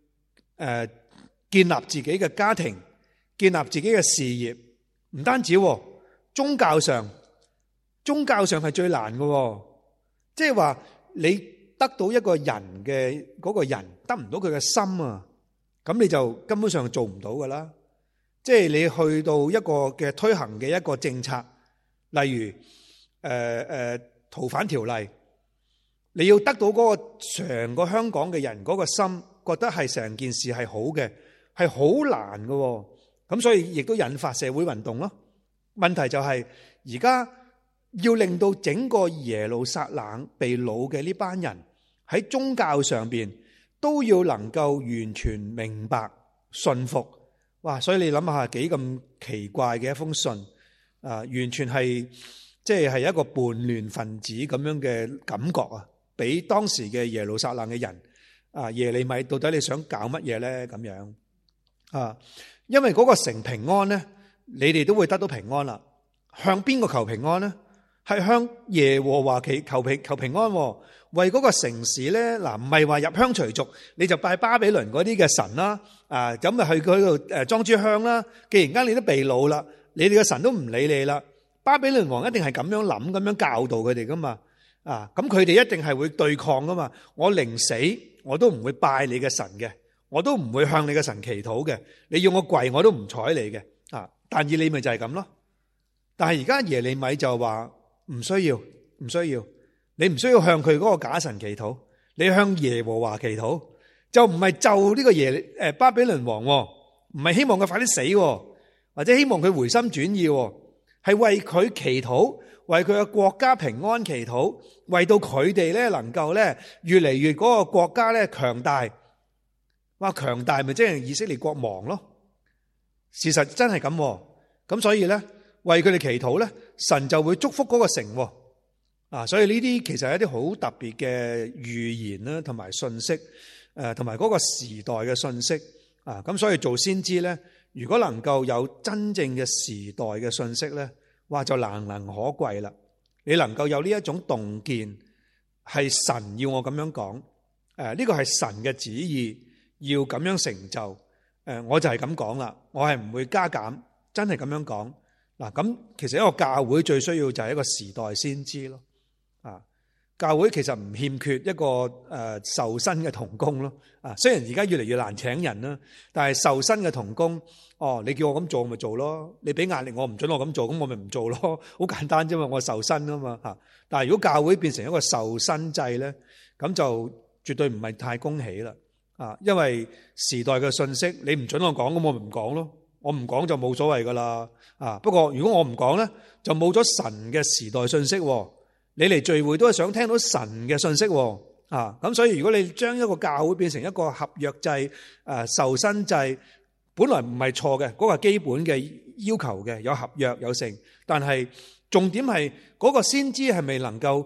Speaker 1: 建立自己嘅家庭。建立自己嘅事業，唔單止宗教上係最難嘅，即係話你得到一個人嘅嗰個人得唔到佢嘅心啊，咁你就根本上做唔到噶啦。即係你去到一個嘅推行嘅一個政策，例如逃犯條例，你要得到嗰個成個香港嘅人嗰個心，覺得係成件事係好嘅，係好難嘅。咁所以亦都引發社會運動咯。問題就係而家要令到整個耶路撒冷被擄嘅呢班人喺宗教上邊都要能夠完全明白信服。哇！所以你諗下幾咁奇怪嘅一封信完全係即係一個叛亂分子咁樣嘅感覺啊！俾當時嘅耶路撒冷嘅人耶利米到底你想搞乜嘢咧？咁樣因為嗰個城平安咧，你哋都會得到平安啦。向邊個求平安咧？係向耶和華求平安。為嗰個城市咧，嗱唔係話入鄉隨俗，你就拜巴比倫嗰啲嘅神啦。咁咪去佢度裝支香啦。既然間你都被擄啦，你哋嘅神都唔理你啦。巴比倫王一定係咁樣諗，咁樣教導佢哋噶嘛。咁佢哋一定係會對抗噶嘛。我寧死我都唔會拜你嘅神嘅。我都唔會向你嘅神祈禱嘅，你要我跪我都唔睬你嘅。但以理咪就係咁咯。但係而家耶利米就話唔需要，你唔需要向佢嗰個假神祈禱，你向耶和華祈禱，就唔係就呢個巴比倫王，唔係希望佢快啲死，或者希望佢回心轉意，係為佢祈禱，為佢嘅國家平安祈禱，為到佢哋咧能夠咧越嚟越嗰個國家咧強大。話強大咪即係以色列國亡咯？事實真係咁，咁所以咧為佢哋祈禱咧，神就會祝福嗰個城。所以呢啲其實係一啲好特別嘅預言啦，同埋信息，同埋嗰個時代嘅信息。咁所以做先知咧，如果能夠有真正嘅時代嘅信息咧，哇就難能可貴啦。你能夠有呢一種洞見，係神要我咁樣講，呢個係神嘅旨意。要咁樣成就，我就係咁講啦，我係唔會加減，真係咁樣講。咁其實一個教會最需要就係一個時代先知咯。教會其實唔欠缺一個受薪嘅同工咯。雖然而家越嚟越難請人啦，但係受薪嘅同工，你叫我咁做我咪做咯，你俾壓力我唔准我咁做，咁我咪唔做咯，好簡單啫嘛，我受薪啊嘛。但係如果教會變成一個受薪制咧，咁就絕對唔係太恭喜啦。因為時代嘅信息，你唔准我講，咁我咪唔講咯。我唔講就冇所謂噶啦。不過如果我唔講咧，就冇咗神嘅時代信息。你嚟聚會都係想聽到神嘅信息。咁所以如果你將一個教會變成一個合約制、受薪制，本來唔係錯嘅，嗰個基本嘅要求嘅，有合約有成。但係重點係嗰個先知係咪能夠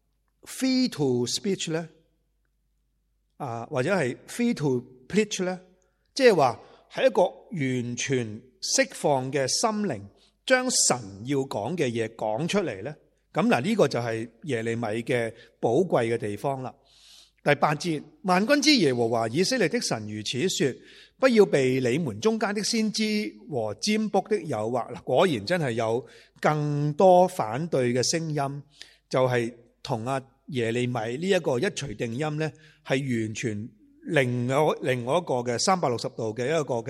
Speaker 1: free to speech 咧？或者係 free to preach 咧，即係話係一個完全釋放嘅心靈，將神要講嘅嘢講出嚟咧。咁嗱，呢個就係耶利米嘅寶貴嘅地方啦。第8節，萬軍之耶和華以色列的神如此說：不要被你們中間的先知和占卜的誘惑。嗱，果然真係有更多反對嘅聲音，就係同耶利米呢一個一錘定音咧，係完全另外一個嘅360度嘅一個嘅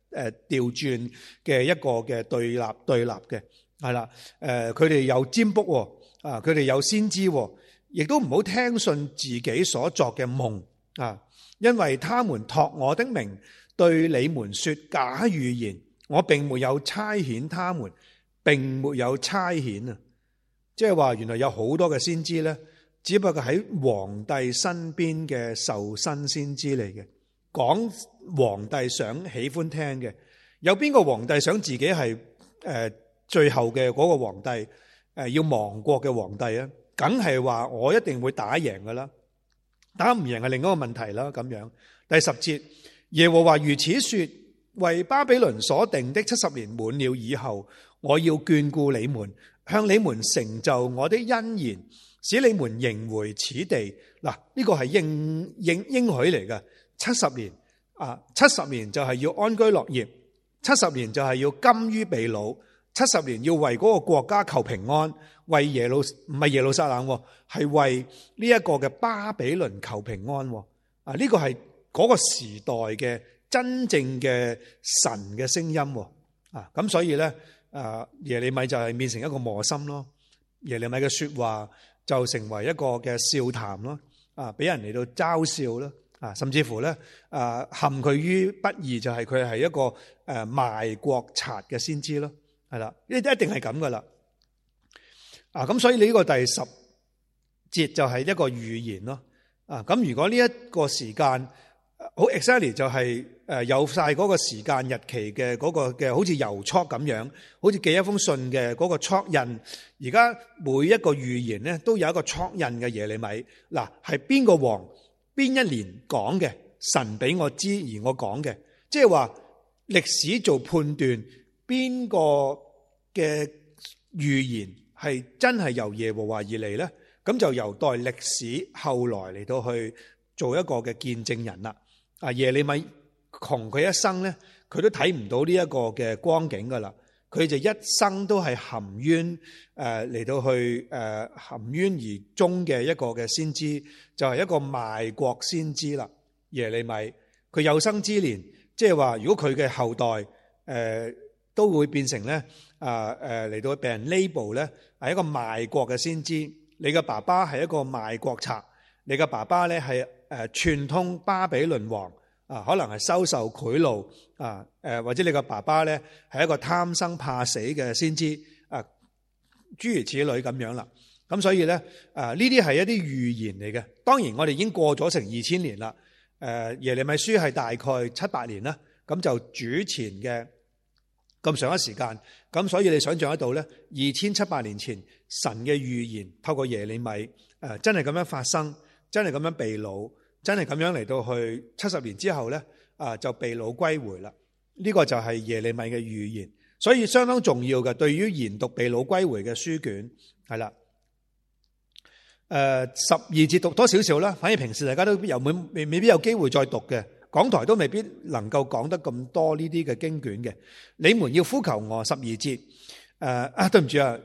Speaker 1: 調轉嘅一個嘅對立嘅，係啦。佢哋有占卜啊，佢哋有先知，亦都唔好聽信自己所作嘅夢啊，因為他們託我的名對你們說假預言，我並沒有差遣他們，並沒有差遣啊。即係話原來有好多嘅先知咧，只不過喺皇帝身邊嘅受身先知嚟嘅，講皇帝想喜歡聽嘅。有邊個皇帝想自己係最後嘅嗰個皇帝，要亡國嘅皇帝啊？梗係話我一定會打贏噶啦，打唔贏係另一個問題啦。咁樣第10節，耶和華如此說：為巴比倫所定的70年滿了以後，我要眷顧你們，向你們成就我的恩言，使你們迎回此地。嗱，呢個係應許嚟嘅。70年啊，70年就係要安居樂業，70年就係要甘於被擄，70年要為嗰個國家求平安，為唔係耶路撒冷，係為呢一個嘅巴比倫求平安。啊，呢個係嗰個時代嘅真正嘅神嘅聲音。啊，咁所以咧，耶利米就係變成一個磨心咯，耶利米嘅說話就成為一個嘅笑談咯，啊，俾人嚟到嘲笑啦，啊，甚至乎咧，陷佢於不義，就係佢係一個賣國賊嘅先知咯，係啦，呢啲一定係咁噶啦，啊，咁所以呢個第10節就係一個預言咯，啊，咁如果呢一個時間好 exactly 就係有晒嗰個時間日期嘅嗰個嘅，好似郵戳咁樣，好似寄一封信嘅嗰個戳印。而家每一個預言咧都有一個戳印嘅。耶利米嗱，係邊個王邊一年講嘅，神俾我知而我講嘅，即係話歷史做判斷邊個嘅預言係真係由耶和華而嚟咧，咁就由代歷史後來嚟到去做一個嘅見證人啦。啊，耶利米窮佢一生咧，佢都睇唔到呢一個嘅光景噶啦，佢就一生都係含冤嚟到去含冤而終嘅一個嘅先知，就係一個賣國先知啦。耶利米佢有生之年，即係話如果佢嘅後代都會變成咧嚟到被人 label 咧係一個賣國嘅先知，你嘅爸爸係一個賣國賊，你嘅爸爸咧係串通巴比倫王啊，可能係收受賄賂啊，或者你個爸爸咧係一個貪生怕死嘅先知啊，諸如此類咁樣啦。咁所以咧呢啲係一啲預言嚟嘅。當然我哋已經過咗成2000年啦。耶利米書係大概7-8年啦，咁就主前嘅咁上一時間。咁所以你想象得到咧，2700年前神嘅預言透過耶利米真係咁樣發生。真係咁樣被擄，真係咁樣嚟到去70年之後咧，就被擄歸回啦。呢個就係耶利米嘅預言，所以相當重要嘅。對於研讀被擄歸回嘅書卷，係啦。12節讀多少少啦，反而平時大家都未必有機會再讀嘅，講台都未必能夠講得咁多呢啲嘅經卷嘅。你們要呼求我，12節，對唔住啊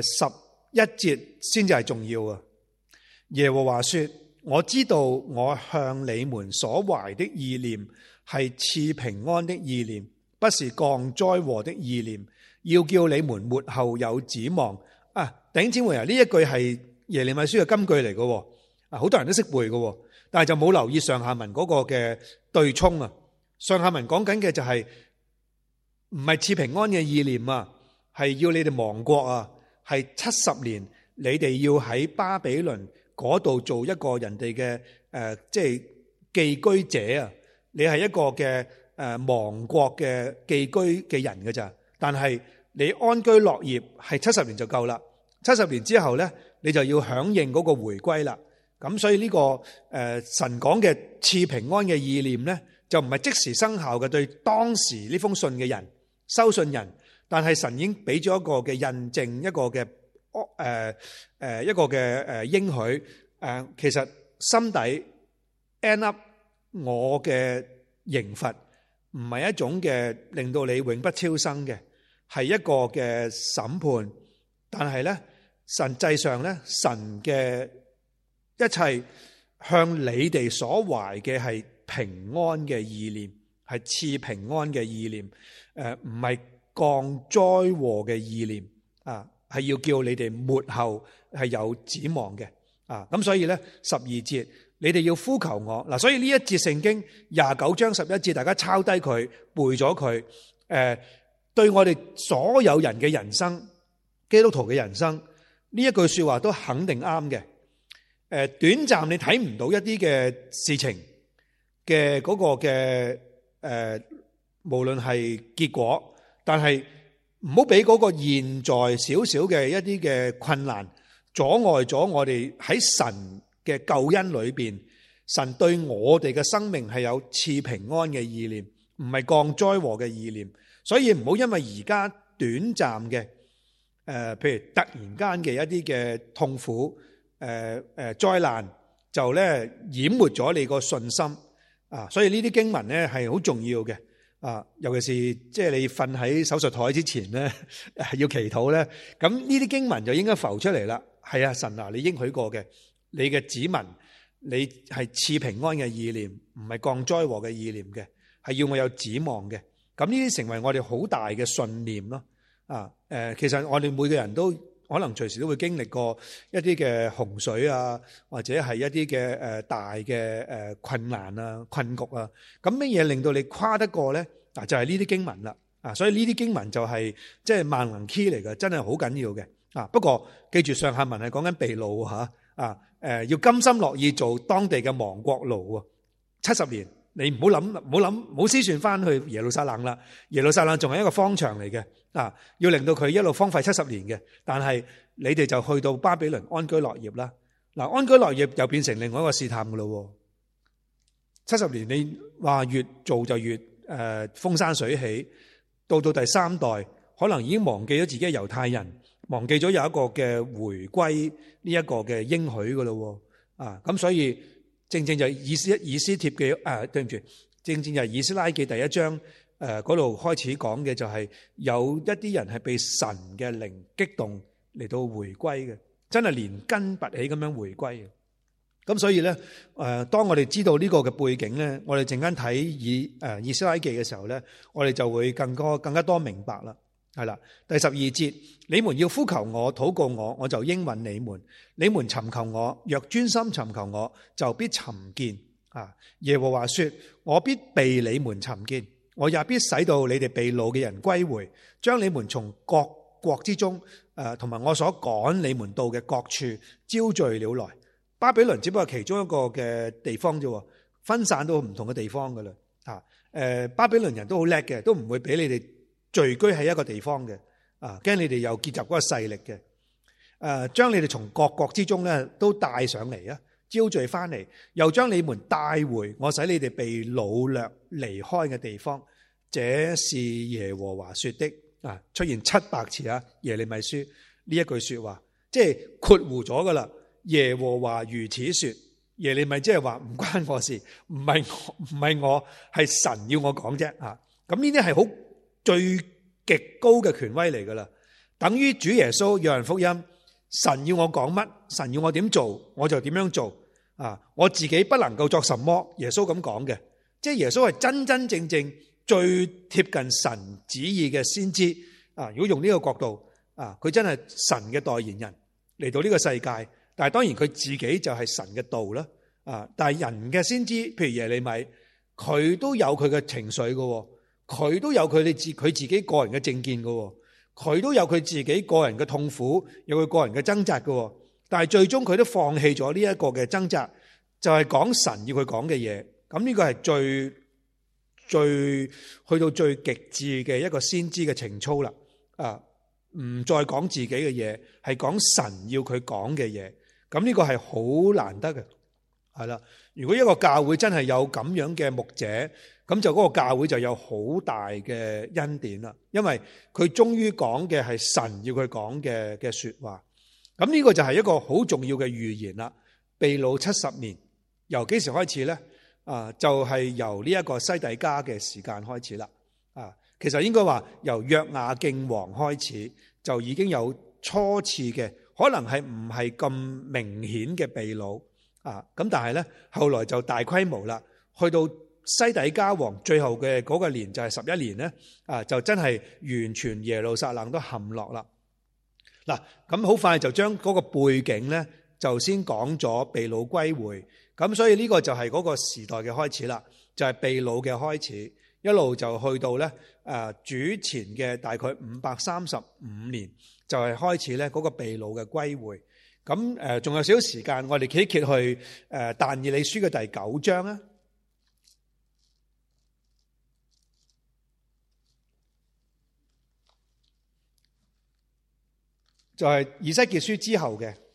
Speaker 1: ，11節先至係重要啊。耶和華說。我知道我向你們所懷的意念係賜平安的意念，不是降災禍的意念，要叫你們末後有指望。弟兄姊妹啊，呢一句係耶利米書嘅金句嚟嘅，好多人都識背嘅，但係就冇留意上下文嗰個嘅對沖啊。上下文講緊嘅就係唔係賜平安嘅意念啊，係要你哋亡國啊，係70年你哋要喺巴比倫嗰度做一個人哋嘅即係寄居者啊！你係一個嘅亡國嘅寄居嘅人㗎咋？但係你安居樂業係70年就夠啦。70年之後咧，你就要響應嗰個回歸啦。咁所以呢個神講嘅賜平安嘅意念咧，就唔係即時生效嘅對當時呢封信嘅人收信人，但係神已經俾咗一個嘅印證，一個嘅。一個嘅應許其實心底 end up 我嘅刑罰唔係一種嘅令到你永不超生嘅，係一個嘅審判。但係咧，實際上咧，神嘅一切向你哋所懷嘅係平安嘅意念， 係賜平安嘅意念，唔係降災禍嘅意念啊，係要叫你哋末後係有指望嘅啊。咁所以咧12節，你哋要呼求我嗱，所以呢一節聖經29章11節，大家抄低佢背咗佢，對我哋所有人嘅人生，基督徒嘅人生呢一句說話都肯定啱嘅。短暫你睇唔到一啲嘅事情嘅嗰個嘅無論係結果，但係唔好俾嗰個現在少少嘅一啲嘅困難阻礙咗我哋喺神嘅救恩裏邊，神對我哋嘅生命係有賜平安嘅意念，唔係降災禍嘅意念。所以唔好因為而家短暫嘅譬如突然間嘅一啲嘅痛苦災難，就咧淹沒咗你個信心啊！所以呢啲經文咧係好重要嘅啊，尤其是即係你瞓喺手術台之前咧要祈禱咧，咁呢啲經文就應該浮出嚟啦。係啊，神啊，你應許過嘅，你嘅子民，你係賜平安嘅意念，唔係降災禍嘅意念嘅，係要我有指望嘅。咁呢啲成為我哋好大嘅信念咯。啊，其實我哋每個人都可能隨時都會經歷過一啲嘅洪水啊，或者係一啲嘅大嘅困難啊、困局啊。咁乜嘢令到你跨得過咧？嗱，就係呢啲經文啦。啊，所以呢啲經文就係即係萬能 key 嚟嘅，真係好緊要嘅。啊，不過記住上下文係講緊被擄嚇。要甘心樂意做當地嘅亡國奴啊，70年。你唔好諗，唔好思算翻去耶路撒冷啦。耶路撒冷仲係一個荒場嚟嘅，啊，要令到佢一路荒廢70年嘅。但係你哋就去到巴比倫安居樂業啦。嗱，安居樂業又變成另外一個試探噶咯。70年你話越做就越風生水起，到第3代可能已經忘記咗自己係猶太人，忘記咗有一個嘅回歸呢一個嘅應許噶咯。啊，咁所以。正正就係以斯帖嘅對唔住，正正就係以斯拉記第1章嗰度開始講嘅，就係有一啲人係被神嘅靈激動嚟到回歸嘅，真係連根拔起咁樣回歸嘅。咁所以咧當我哋知道呢個嘅背景咧，我哋陣間睇以斯拉記嘅時候咧，我哋就會更加多明白啦。係啦，第12節，你們要呼求我，禱告我，我就應允你們。你們尋求我，若專心尋求我，就必尋見。啊，耶和華說，我必被你們尋見，我也必使到你哋被擄嘅人歸回，將你們從各國之中，同埋我所趕你們到嘅各處招聚了來。巴比倫只不過其中一個嘅地方啫，分散到唔同嘅地方噶啦。巴比倫人都好叻嘅，都唔會俾你哋聚居喺一個地方嘅，驚你哋又結集嗰個勢力嘅，將你哋從各國之中咧都帶上嚟啊，招聚翻嚟，又將你們帶回我使你哋被擄掠離開嘅地方，這是耶和華說的。出現700次啊，耶利米書呢一句說話，即係括弧咗噶啦。耶和華如此說，耶利米即係話唔關我事，唔係我，係神要我講啫。咁呢啲係好最極高嘅權威嚟噶啦，等於主耶穌約翰福音，神要我講乜，神要我點做，我就點樣做。我自己不能夠作什麼，耶穌咁講嘅，即係耶穌係真真正正最貼近神旨意嘅先知。如果用呢個角度，佢真係神嘅代言人嚟到呢個世界，但係當然佢自己就係神嘅道啦。但係人嘅先知，譬如耶利米，佢都有佢嘅情緒噶。佢都有佢自己個人嘅政見嘅，佢都有佢自己個人嘅痛苦，有佢個人嘅掙扎嘅。但係最終佢都放棄咗呢一個嘅掙扎，就係講神要佢講嘅嘢。咁呢個係最去到最極致嘅一個先知嘅情操啦。唔再講自己嘅嘢，係講神要佢講嘅嘢。咁呢個係好難得嘅，係啦。如果一個教會真係有咁樣嘅牧者，咁就嗰個教會就有好大嘅恩典啦，因為佢終於講嘅係神要佢講嘅說話。咁呢個就係一個好重要嘅預言啦。被擄70年，由幾時開始呢？就係由呢一個西底家嘅時間開始啦。其實應該話由約雅敬王開始就已經有初次嘅，可能係唔係咁明顯嘅被擄。咁但係呢，後來就大規模啦，去到西底家王最後嘅嗰個年就係11年咧，就真係完全耶路撒冷都陷落啦。嗱，咁好快就將嗰個背景咧就先講咗被擄歸回，咁所以呢個就係嗰個時代嘅開始啦，就係被擄嘅開始，一路就去到咧主前嘅大概535年就係開始咧嗰個被擄嘅歸回。咁仲有少少時間，我哋揭一揭去但以理書嘅第9章啊。就係以西結書之後嘅，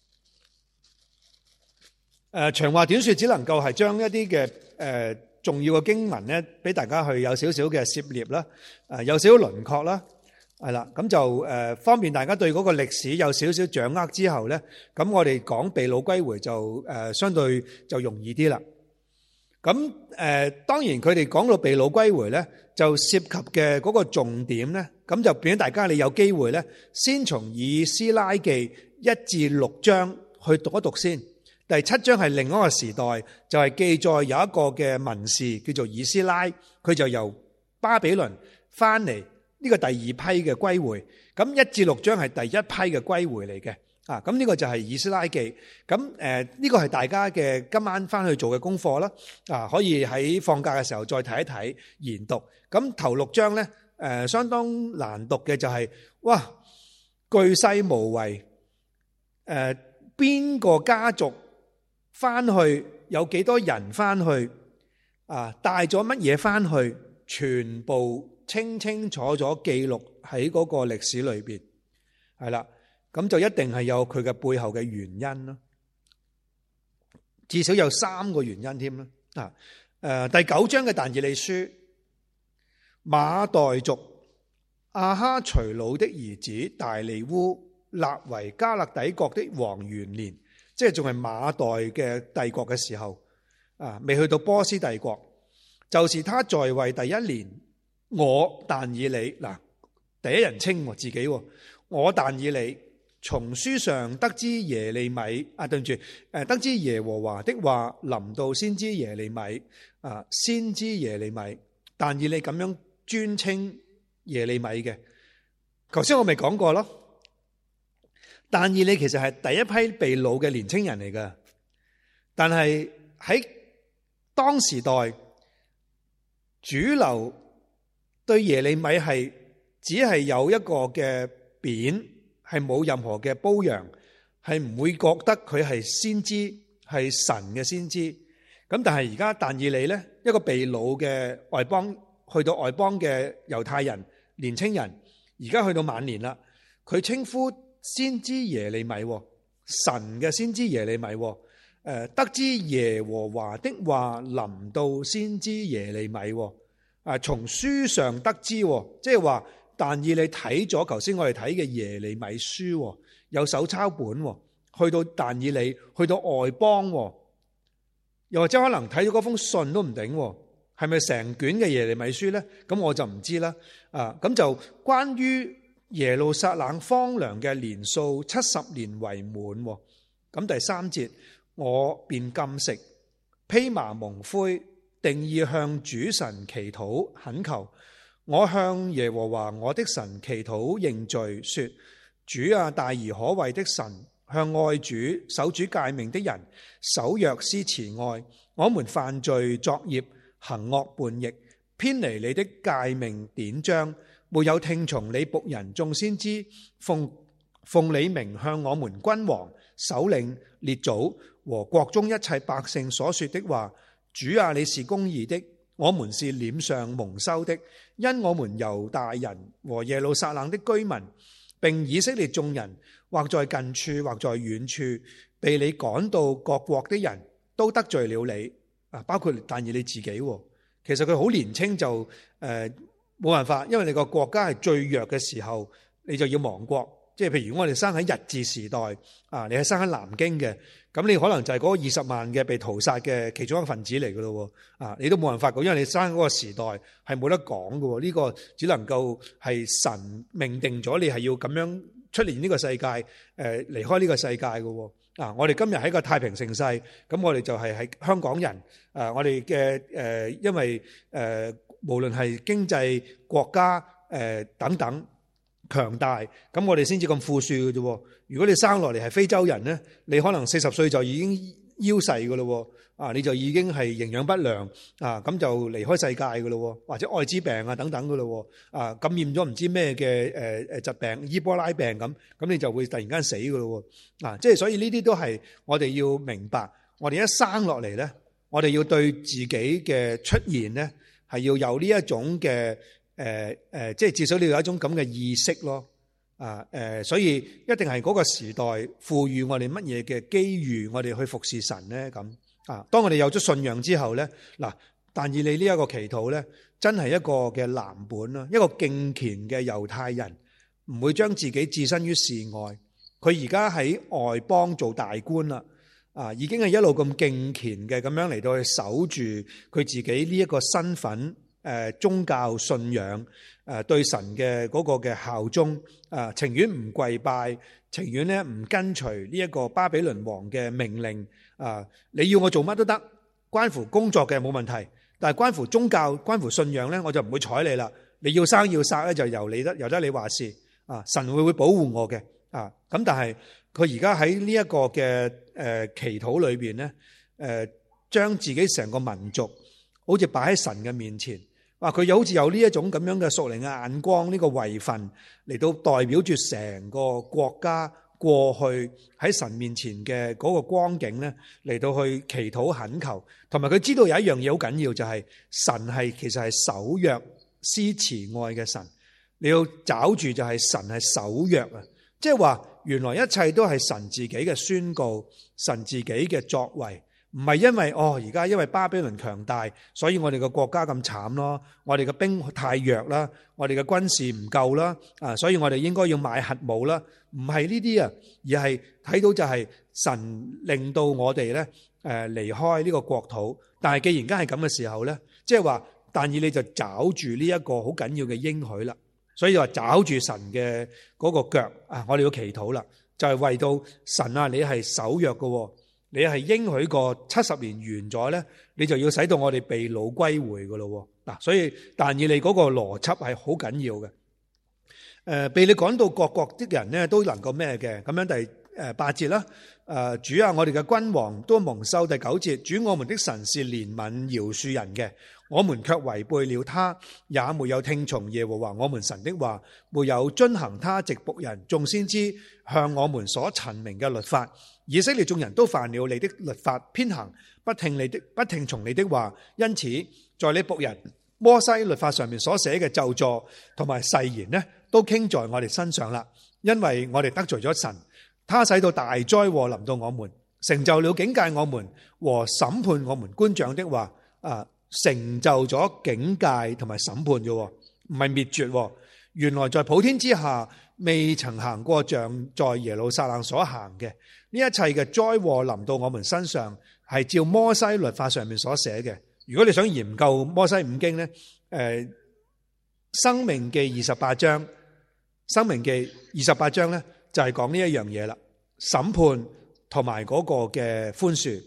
Speaker 1: 長話短說，只能夠係將一啲嘅重要嘅經文咧，俾大家去有少少嘅涉獵啦，有少少輪廓啦，係啦，咁就方便大家對嗰個歷史有少少掌握之後咧，咁我哋講被擄歸回就相對就容易啲啦。咁當然佢哋講到被擄歸回咧，就涉及嘅嗰個重點咧，咁就變咗大家你有機會咧，先從以斯拉記1至6章去讀一讀先。第7章係另一個時代，就係記載有一個嘅文士叫做以斯拉，佢就由巴比倫翻嚟，呢個第二批嘅歸回。咁1至6章係第一批嘅歸回嚟嘅。咁呢個就係以斯拉記，咁呢個係大家嘅今晚翻去做嘅功課啦，可以喺放假嘅時候再睇一睇研讀。咁頭6章咧，相當難讀嘅就係，哇，巨細無遺，邊個家族翻去，有幾多人翻去，帶咗乜嘢翻去，全部清清楚楚記錄喺嗰個歷史裏邊，係啦。咁就一定係有佢嘅背後嘅原因咯，至少有3個原因添啦。第9章嘅但以理書，馬代族亞哈隨魯的兒子大利烏立為加勒底國的王元年，即係仲係馬代嘅帝國嘅時候，未去到波斯帝國，就是他在位第1年，我但以理，第一人稱自己，我但以理從書上得知耶利米，對唔住，得知耶和華的話臨到先知耶利米，先知耶利米，但以理咁樣尊稱耶利米嘅。頭先我咪講過咯，但以理其實係第一批被擄嘅年青人嚟㗎，但係喺當時代主流對耶利米係只係有一個嘅貶，係冇任何嘅褒揚，係唔會覺得佢係先知，係神嘅先知。咁但係而家但以理咧，一個被擄嘅外邦，去到外邦嘅猶太人年青人，而家去到晚年啦，佢稱呼先知耶利米，神嘅先知耶利米，得知耶和華的話臨到先知耶利米，從書上得知，即係話。但以理睇咗頭先我哋睇嘅耶利米書，有手抄本，去到但以理，去到外邦，又或者可能睇咗嗰封信都唔定，係咪成卷嘅耶利米書呢？咁我就唔知啦。咁就關於耶路撒冷荒涼嘅年數70年為滿。咁第3節，我便禁食，披麻蒙灰，定意向主神祈禱懇求。我向耶和華我的神祈禱認罪，說：主啊，大而可畏的神，向愛主守主誡命的人守約施慈愛。我們犯罪作孽，行惡叛逆，偏離你的誡命典章，沒有聽從你僕人眾先知奉你名向我們君王、首領、列祖和國中一切百姓所說的話。主啊，你是公義的，我們是臉上蒙羞的，因我們猶大人和耶路撒冷的居民，並以色列眾人，或在近處或在遠處，被你趕到各國的人都得罪了你，包括但以理自己。其實佢好年輕就冇辦法，因為你個國家係最弱嘅時候，你就要亡國。即係譬如我哋生喺日治時代，你係生喺南京嘅，咁你可能就係嗰20萬嘅被屠殺嘅其中一個分子嚟噶咯，你都冇辦法噶，因為你生喺嗰個時代係冇得講噶，呢個只能夠係神命定咗你係要咁樣出現呢個世界，離開呢個世界噶。 我哋今日喺個太平盛世，咁我哋就係喺香港人，我哋嘅因為無論係經濟國家等等強大，咁我哋先至咁富庶嘅啫。如果你生落嚟係非洲人咧，你可能40歲就已經夭逝噶咯，你就已經係營養不良咁就離開世界噶咯，或者艾滋病啊等等噶咯，感染咗唔知咩嘅疾病，伊波拉病咁你就會突然間死噶咯，即係所以呢啲都係我哋要明白，我哋一生落嚟咧，我哋要對自己嘅出現咧係要有呢一種嘅即係至少你要有一種咁嘅意識咯。所以一定係嗰個時代賦予我哋乜嘢嘅機遇，我哋去服侍神咧咁。當我哋有咗信仰之後咧，但以理呢一個祈禱咧，真係一個嘅藍本啦，一個敬虔嘅猶太人，唔會將自己置身於事外。佢而家喺外邦做大官啦，已經係一路咁敬虔嘅咁樣嚟到去守住佢自己呢一個身份，宗教信仰，對神嘅嗰個嘅效忠，情願唔跪拜，情願咧唔跟隨呢一個巴比倫王嘅命令。你要我做乜都得，關乎工作嘅冇問題，但係關乎宗教、關乎信仰咧，我就唔會睬你啦。你要生要殺咧，就由得你話事。神會保護我嘅。咁但係佢而家喺呢一個嘅祈禱裏邊咧，將自己成個民族好似擺喺神嘅面前。佢又好似有呢一種咁樣嘅屬靈嘅眼光，呢個位份嚟到代表住成個國家過去喺神面前嘅嗰個光景咧，嚟到去祈禱懇求，同埋佢知道有一樣嘢好緊要，就係神係其實係守約施慈愛嘅神，你要找住就係神係守約啊！即係話原來一切都係神自己嘅宣告，神自己嘅作為。唔係因為而家因為巴比倫強大，所以我哋嘅國家咁慘咯，我哋嘅兵太弱啦，我哋嘅軍事唔夠啦，所以我哋應該要買核武啦。唔係呢啲啊，而係睇到就係神令到我哋咧離開呢個國土。但係既然間係咁嘅時候咧，即係話但以理就找住呢一個好緊要嘅應許啦。所以話找住神嘅嗰個腳我哋要祈禱啦，就係為到神啊，你係守約嘅。你係應許過70年完咗咧，你就要使到我哋被擄歸回噶咯。所以但以理嗰個邏輯係好緊要嘅。被你趕到各國的人咧都能夠咩嘅？咁樣第8節啦。主啊，我哋嘅君王都蒙羞。第9節，主我們的神是憐憫饒恕人嘅，我們卻違背了他，也沒有聽從耶和華我們神的話，沒有遵行他藉僕人眾先知向我們所陳明嘅律法。以色列眾人都犯了你的律法，偏行不聽從你的話，因此在你僕人摩西律法上面所寫嘅咒詛同埋誓言呢，都傾在我哋身上啦。因為我哋得罪咗神，他使到大災禍臨到我們，成就了警戒我們和審判我們官長的話。成就咗警戒同埋審判啫，唔係滅絕。原來在普天之下未曾行過像在耶路撒冷所行嘅呢一切嘅災禍臨到我們身上，係照摩西律法上面所寫嘅。如果你想研究摩西五經呢，申命記28章，申命記28章呢就係講呢一樣嘢啦，審判同埋嗰個嘅寬恕。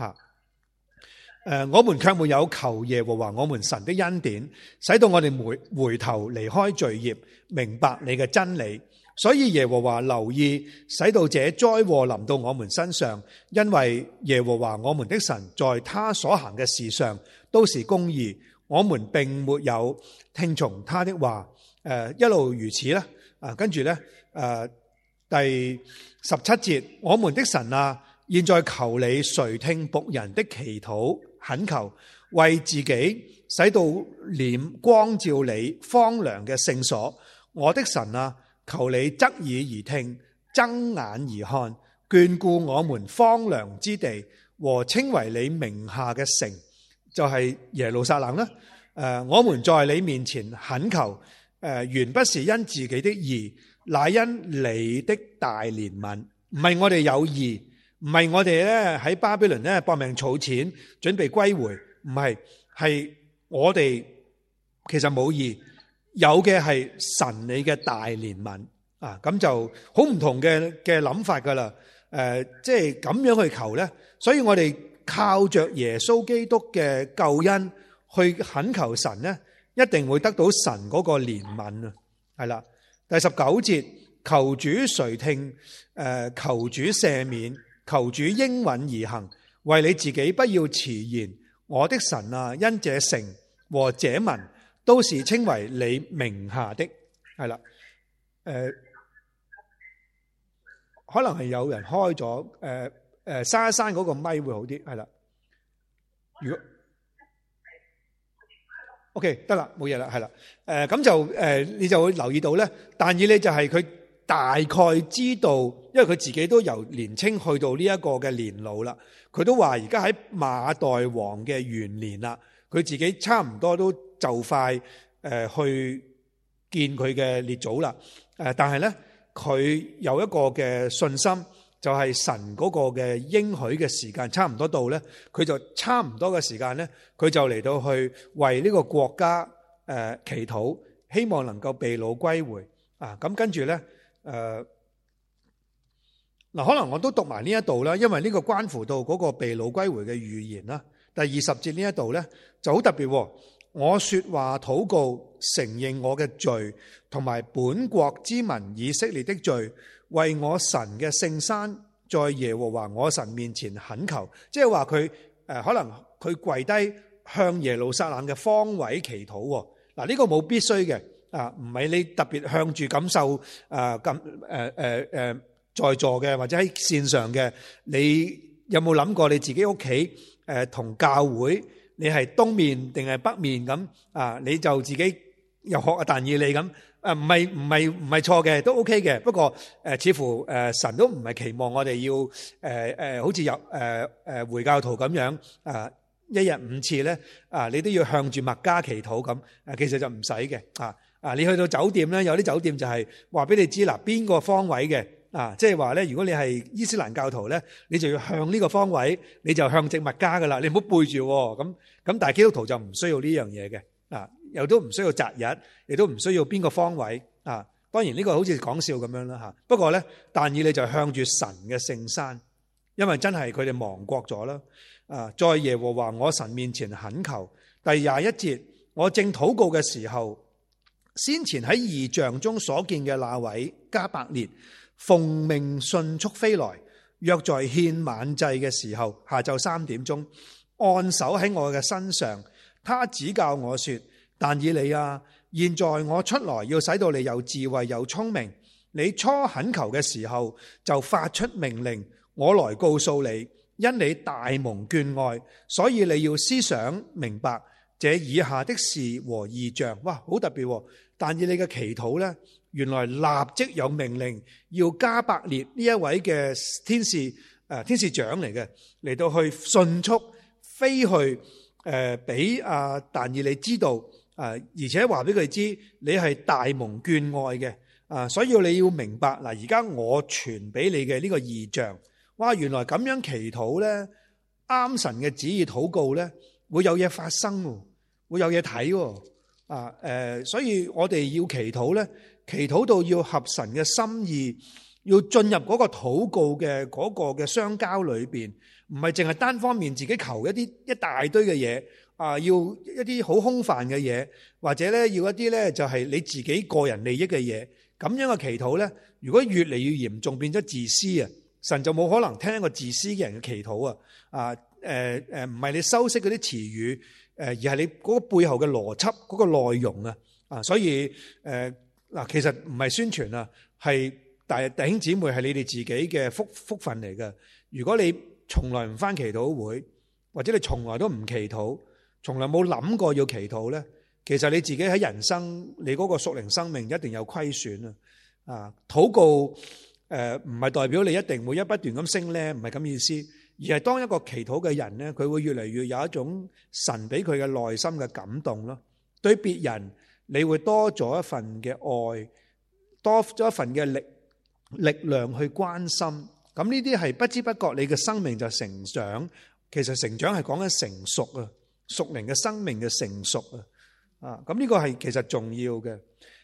Speaker 1: 我們卻沒有求耶和華我們神的恩典，使到我哋回頭離開罪孽，明白你嘅真理。所以耶和華留意，使到這災禍臨到我們身上，因為耶和華我們的神在他所行嘅事上都是公義，我們並沒有聽從他的話。一路如此啦。跟住咧，第17節，我們的神啊，現在求你垂聽僕人的祈禱懇求，為自己使到臉光照你荒涼嘅聖所。我的神啊，求你側耳而聽，睜眼而看，眷顧我們荒涼之地和稱為你名下嘅城，就係耶路撒冷啦。我們在你面前懇求，原不是因自己的義，乃因你的大憐憫。唔係我哋有義，唔係我哋咧喺巴比倫咧搏命儲錢準備歸回，唔係，係我哋其實冇義，有嘅係神你嘅大憐憫啊！咁就好唔同嘅諗法噶啦。 即係咁樣去求咧。所以我哋靠着耶穌基督嘅救恩去懇求神咧，一定會得到神嗰個憐憫啊。係啦，第19節，求主垂聽，求主赦免，求主應允而行，為你自己不要遲延。我的神啊，因這城和這民都是稱為你名下的。係啦，可能係有人開咗，閂一閂嗰個咪會好啲。係啦，如果 OK 得啦，冇嘢啦，係啦，咁就你就會留意到咧，但以理就係佢大概知道，因為佢自己都由年青去到呢一個嘅年老啦，佢都話而家喺馬代王嘅元年啦，佢自己差唔多都就快去見佢嘅列祖啦，但係咧佢有一個嘅信心。就係神嗰個嘅應許嘅時間差唔多到咧，佢就差唔多嘅時間咧，佢就嚟到去為呢個國家祈禱，希望能夠被擄歸回啊！咁跟住咧嗱，可能我都讀埋呢一度啦，因為呢個關乎到嗰個被擄歸回嘅預言啦。第20節呢一度咧就好特別，我說話禱告，承認我嘅罪，同埋本國之民以色列的罪。為我神嘅聖山，在耶和華我神面前懇求，即係話佢可能佢跪低向耶路撒冷嘅方位祈禱。嗱，呢個冇必須嘅啊，唔係你特別向住感受在座嘅或者喺線上嘅，你有冇諗過你自己屋企同教會你係東面定係北面咁啊？你就自己又學但以理咁。唔係錯嘅，都 OK 嘅。不過似乎神都唔係期望我哋要好似入回教徒咁樣一日5次咧你都要向住麥加祈禱咁。其實就唔使嘅你去到酒店咧，有啲酒店就係話俾你知嗱，邊個方位嘅即係話咧，如果你係伊斯蘭教徒咧，你就要向呢個方位，你就向正麥加噶啦，你唔好背住咁。但係基督徒就唔需要呢樣嘢嘅又都唔需要擇日，亦都唔需要邊個方位啊！當然呢個好似講笑咁樣啦嚇。不過咧，但以理就向住神嘅聖山，因為真係佢哋亡國咗啦。在耶和華我神面前懇求。第21節，我正禱告嘅時候，先前喺異象中所見嘅那位加百列，奉命迅速飛來，約在獻晚祭嘅時候，下晝3點鐘，按手喺我嘅身上，他指教我說。但以理啊，現在我出來要使到你有智慧有聰明。你初懇求嘅時候就發出命令，我來告訴你，因你大蒙眷愛，所以你要思想明白這以下的事和異象。哇，好特別！但以理嘅祈禱呢，原來立即有命令要加百列呢一位嘅天使長嚟到去迅速飛去俾但以理知道。而且話俾佢知，你係大蒙眷愛嘅，所以你要明白嗱。而家我傳俾你嘅呢個異象，哇！原來咁樣祈禱咧，啱神嘅旨意禱告咧，會有嘢發生，會有嘢睇。所以我哋要祈禱咧，祈禱到要合神嘅心意，要進入嗰個禱告嘅嗰個嘅相交裏邊，唔係淨係單方面自己求一大堆嘅嘢。要一啲好空泛嘅嘢，或者咧要一啲咧就係你自己個人利益嘅嘢，咁樣嘅祈禱咧，如果越嚟越嚴重，變咗自私啊，神就冇可能聽一個自私嘅人嘅祈禱啊！唔係你修飾嗰啲詞語，而係你嗰個背後嘅邏輯嗰個內容啊！所以其實唔係宣傳啊，係弟兄姊妹係你哋自己嘅福分嚟嘅。如果你從來唔返祈禱會，或者你從來都唔祈禱，從來冇諗過要祈禱咧，其實你自己喺人生你嗰個屬靈生命一定有虧損啊！禱告唔係代表你一定會不斷咁升咧，唔係咁意思，而係當一個祈禱嘅人咧，佢會越嚟越有一種神俾佢嘅內心嘅感動咯。對別人你會多咗一份嘅愛，多咗一份嘅力量去關心。咁呢啲係不知不覺你嘅生命就成長。其實成長係講緊成熟啊，屬靈嘅生命嘅成熟啊，咁呢個係其實重要嘅。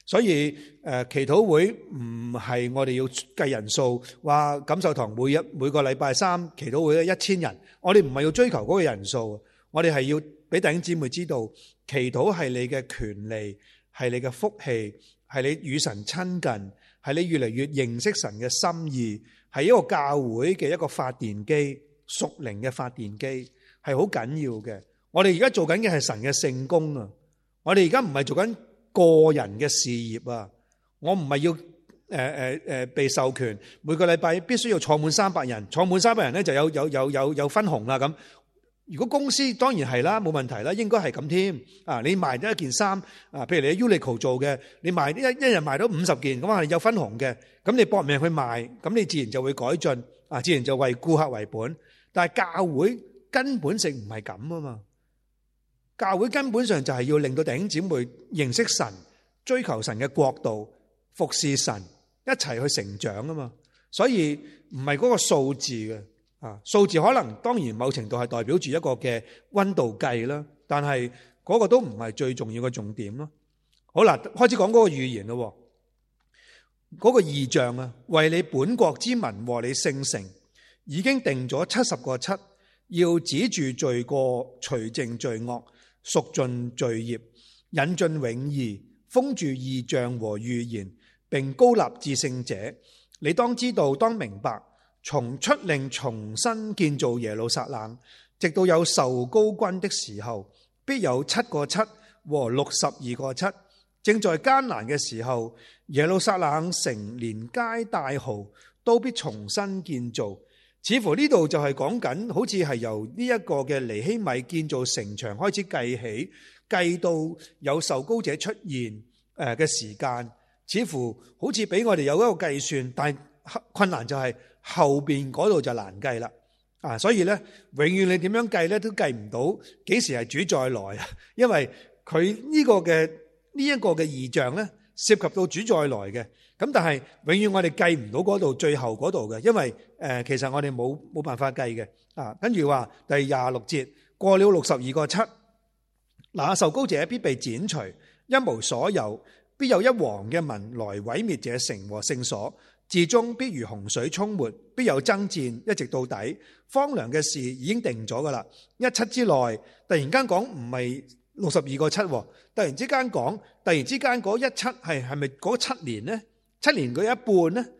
Speaker 1: 所以祈禱會唔係我哋要計人數，話錦繡堂每個禮拜三祈禱會1000人，我哋唔係要追求嗰個人數，我哋係要俾弟兄姊妹知道，祈禱係你嘅權利，係你嘅福氣，係你與神親近，係你越嚟越認識神嘅心意，係一個教會嘅一個發電機，屬靈嘅發電機，係好緊要嘅。我哋而家做緊嘅係神嘅聖工啊！我哋而家唔係做緊個人嘅事業啊！我唔係要被授權每個禮拜必須要坐滿300人，坐滿300人咧就有分紅啦咁。如果公司當然係啦，冇問題啦，應該係咁添啊！你賣咗一件衫啊，譬如你喺 Uniqlo 做嘅，你賣一日賣到50件，咁係有分紅嘅。咁你搏命去賣，咁你自然就會改進啊，自然就為顧客為本。但係教會根本性唔係咁啊嘛！教會根本上就係要令到弟兄姊妹認識神，追求神嘅國度，服侍神，一齊去成長啊嘛。所以唔係嗰個數字嘅啊，數字可能當然某程度係代表住一個嘅溫度計啦，但係嗰個都唔係最重要嘅重點咯。好啦，開始講嗰個預言咯，嗰個異象啊，為你本國之民和你聖城已經定咗70個7，要止住罪過，除淨罪惡，贖盡罪孽，引進永義，封住異象和預言，並膏立至聖者。你當知道，當明白，從出令重新建造耶路撒冷，直到有受膏君的時候，必有7個7和62個7。正在艱難嘅時候，耶路撒冷城連街帶壕都必重新建造。似乎呢度就係講緊，好似係由呢一個嘅尼希米建造城牆開始計起，計到有受膏者出現嘅時間，似乎好似俾我哋有一個計算，但係困難就係後邊嗰度就難計啦。啊，所以咧，永遠你點樣計咧都計唔到幾時係主再來啊，因為佢呢個嘅呢一個嘅異象咧，涉及到主再來嘅。咁但係永遠我哋計唔到嗰度最後嗰度嘅，因為其實我哋冇辦法計嘅啊。跟住話第26節，過了62個7，那受膏者必被剪除，一無所有，必有一王嘅民來毀滅這城和聖所，至終必如洪水沖沒，必有爭戰一直到底。荒涼嘅事已經定咗噶啦，17之內突然間講唔係62個7，突然之間講，突然之間嗰17係咪嗰7年呢？7年佢一半呢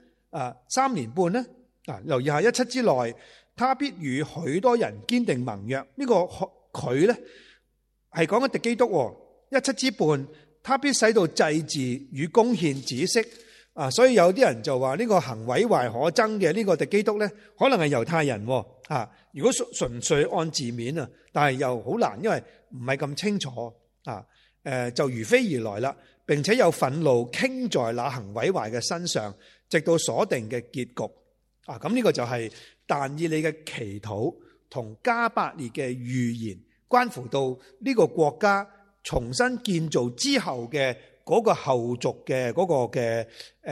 Speaker 1: ？3年半呢？留意下17之內，他必與許多人堅定盟約。呢個佢呢係講緊敵基督。17之半，他必使到祭祀與供獻止息。所以有啲人就話呢個行毀壞可憎嘅呢個敵基督呢，可能係猶太人。如果純粹按字面啊，但係又好難，因為唔係咁清楚就如飛而來啦。並且有憤怒傾在那行毀壞嘅身上，直到所定嘅結局。咁呢個就係但以理嘅祈禱同加百列嘅預言，關乎到呢個國家重新建造之後嘅嗰個後續嘅嗰個嘅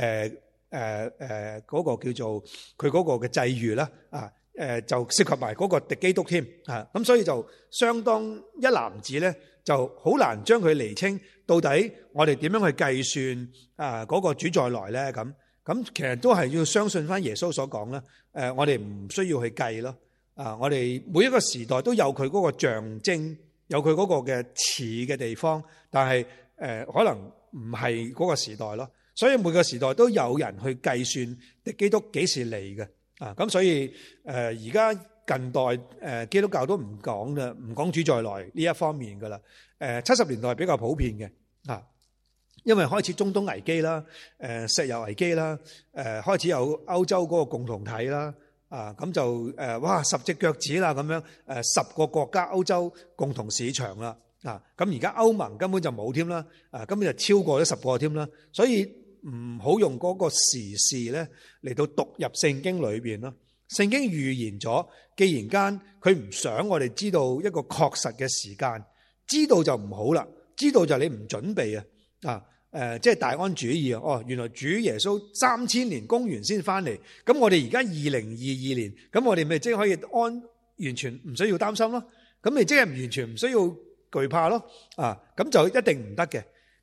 Speaker 1: 嗰個叫做佢嗰個嘅際遇啦。就涉及埋嗰個敵基督添。咁所以就相當一籃子咧，就好難將佢釐清。到底我哋點樣去計算嗰個主再來咧？咁其實都係要相信翻耶穌所講啦。我哋唔需要去計咯。我哋每一個時代都有佢嗰個象徵，有佢嗰個嘅似嘅地方，但係可能唔係嗰個時代咯。所以每個時代都有人去計算敵基督幾時嚟嘅。咁所以而家近代基督教都唔講啦，唔講主再來呢一方面噶啦。70年代比較普遍嘅。因為開始中東危機啦，石油危機啦，開始有歐洲嗰個共同體啦，咁就哇10隻腳趾啦咁樣，10個國家歐洲共同市場啦，咁而家歐盟根本就冇添啦，根本就超過咗10個添啦，所以唔好用嗰個時事咧嚟到讀入聖經裏邊咯。聖經預言咗，既然間佢唔想我哋知道一個確實嘅時間，知道就唔好啦。知道就你唔準備即係大安主義啊！原來主耶穌3000年公元先翻嚟，咁我哋而家2022年，咁我哋咪即係可以完全唔需要擔心咯。咁你即係完全唔需要懼怕咯。咁就一定唔得嘅。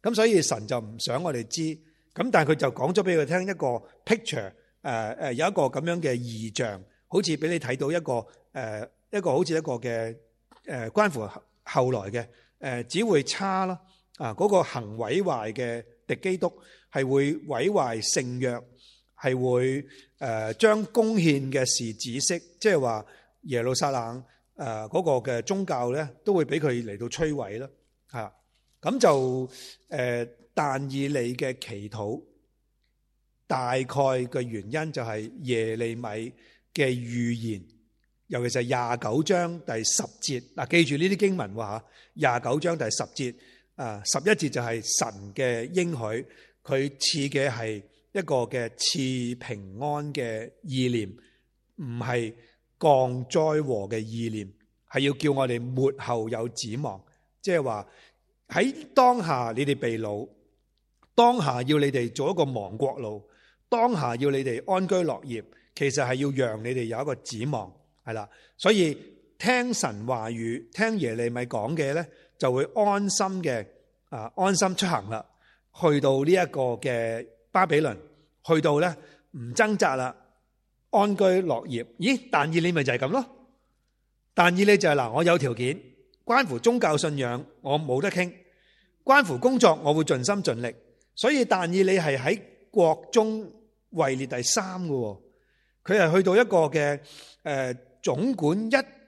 Speaker 1: 咁所以神就唔想我哋知，咁但係佢就講咗俾佢聽一個 picture， 有一個咁樣嘅異象，好似俾你睇到一個好似一個嘅關乎後來嘅只會差啦，嗰個行毀壞嘅敵基督係會毀壞聖約，係會將貢獻嘅事止息，即係話耶路撒冷嗰個嘅宗教咧都會俾佢嚟到摧毀啦，吓，咁就但以理嘅祈禱大概嘅原因就係耶利米嘅預言，尤其是29章第10節，嗱，記住呢啲經文話29章第10節11節就係神嘅應許，佢賜嘅係一個嘅賜平安嘅意念，唔係降災禍嘅意念，係要叫我哋末後有指望，即係話喺當下你哋被擄，當下要你哋做一個亡國路，當下要你哋安居樂業，其實係要讓你哋有一個指望，係啦。所以聽神話語，聽耶利米講嘅咧，就會安心嘅安心出行啦。去到呢一個嘅巴比倫，去到咧唔掙扎啦，安居樂業。咦？但以理咪就係咁咯？但以理就係嗱，我有條件，關乎宗教信仰，我冇得傾；關乎工作，我會盡心盡力。所以但以理係喺國中位列第3嘅，佢係去到一個嘅總管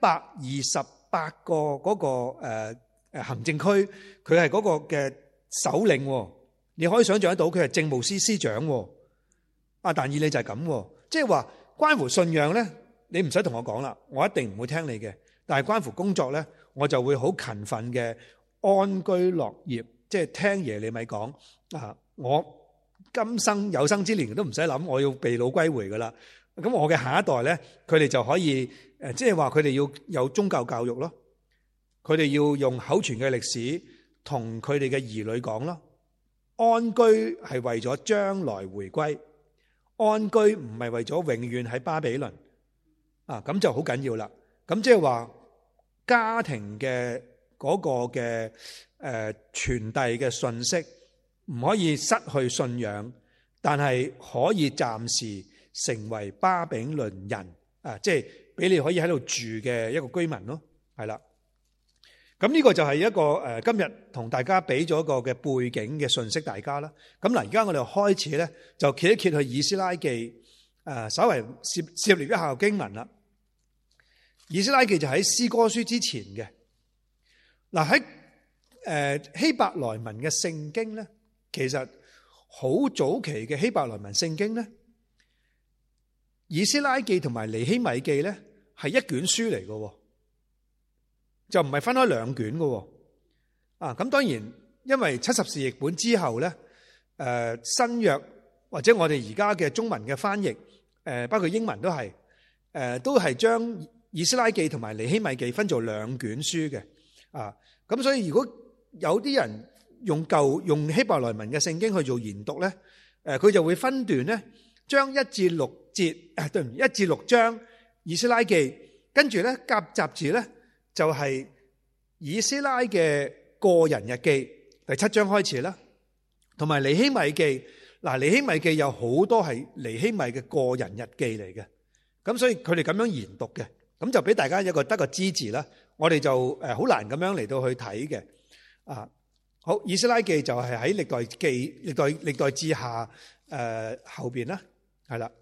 Speaker 1: 128個嗰個行政區，佢係嗰個嘅首領。你可以想象得到，佢係政務司司長。但以理就係咁，即係話關乎信仰咧，你唔使同我講啦，我一定唔會聽你嘅。但係關乎工作咧，我就會好勤奮嘅安居樂業，即係聽耶利米講我今生有生之年都唔使諗，我要被擄歸回噶啦。咁我嘅下一代咧，佢哋就可以即係話佢哋要有宗教教育咯，佢哋要用口傳嘅歷史同佢哋嘅兒女講咯。安居係為咗將來回歸，安居唔係為咗永遠喺巴比倫咁就好緊要啦。咁即係話家庭嘅嗰個嘅傳遞嘅信息唔可以失去信仰，但係可以暫時成為巴比倫人即係俾你可以喺度住嘅一個居民咯，係啦。咁呢個就係一個今日同大家俾咗一個嘅背景嘅信息大家啦。咁嗱，而家我哋開始咧就揭一揭去以斯拉記，稍微涉獵一下經文啦。以斯拉記就喺詩歌書之前嘅。嗱，喺希伯來文嘅聖經咧，其實好早期嘅希伯來文聖經咧，以斯拉記同埋尼希米記咧係一卷書嚟嘅。就唔係分開兩卷嘅。咁當然因為70士譯本之後咧，新約或者我哋而家嘅中文嘅翻譯，包括英文都係將以斯拉記同埋尼希米記分做兩卷書嘅。咁所以如果有啲人用希伯來文嘅聖經去做研讀咧，佢就會分段咧，將1至6節1至6章以斯拉記，跟住咧夾雜字咧。就係以斯拉嘅個人日記第7章開始啦，同埋尼希米記。嗱，尼希米記有好多係尼希米嘅個人日記嚟嘅，咁所以佢哋咁樣研讀嘅，咁就俾大家得個支持啦。我哋就好難咁樣嚟到去睇嘅。好，以斯拉記就係喺歷代志下後邊啦，係啦。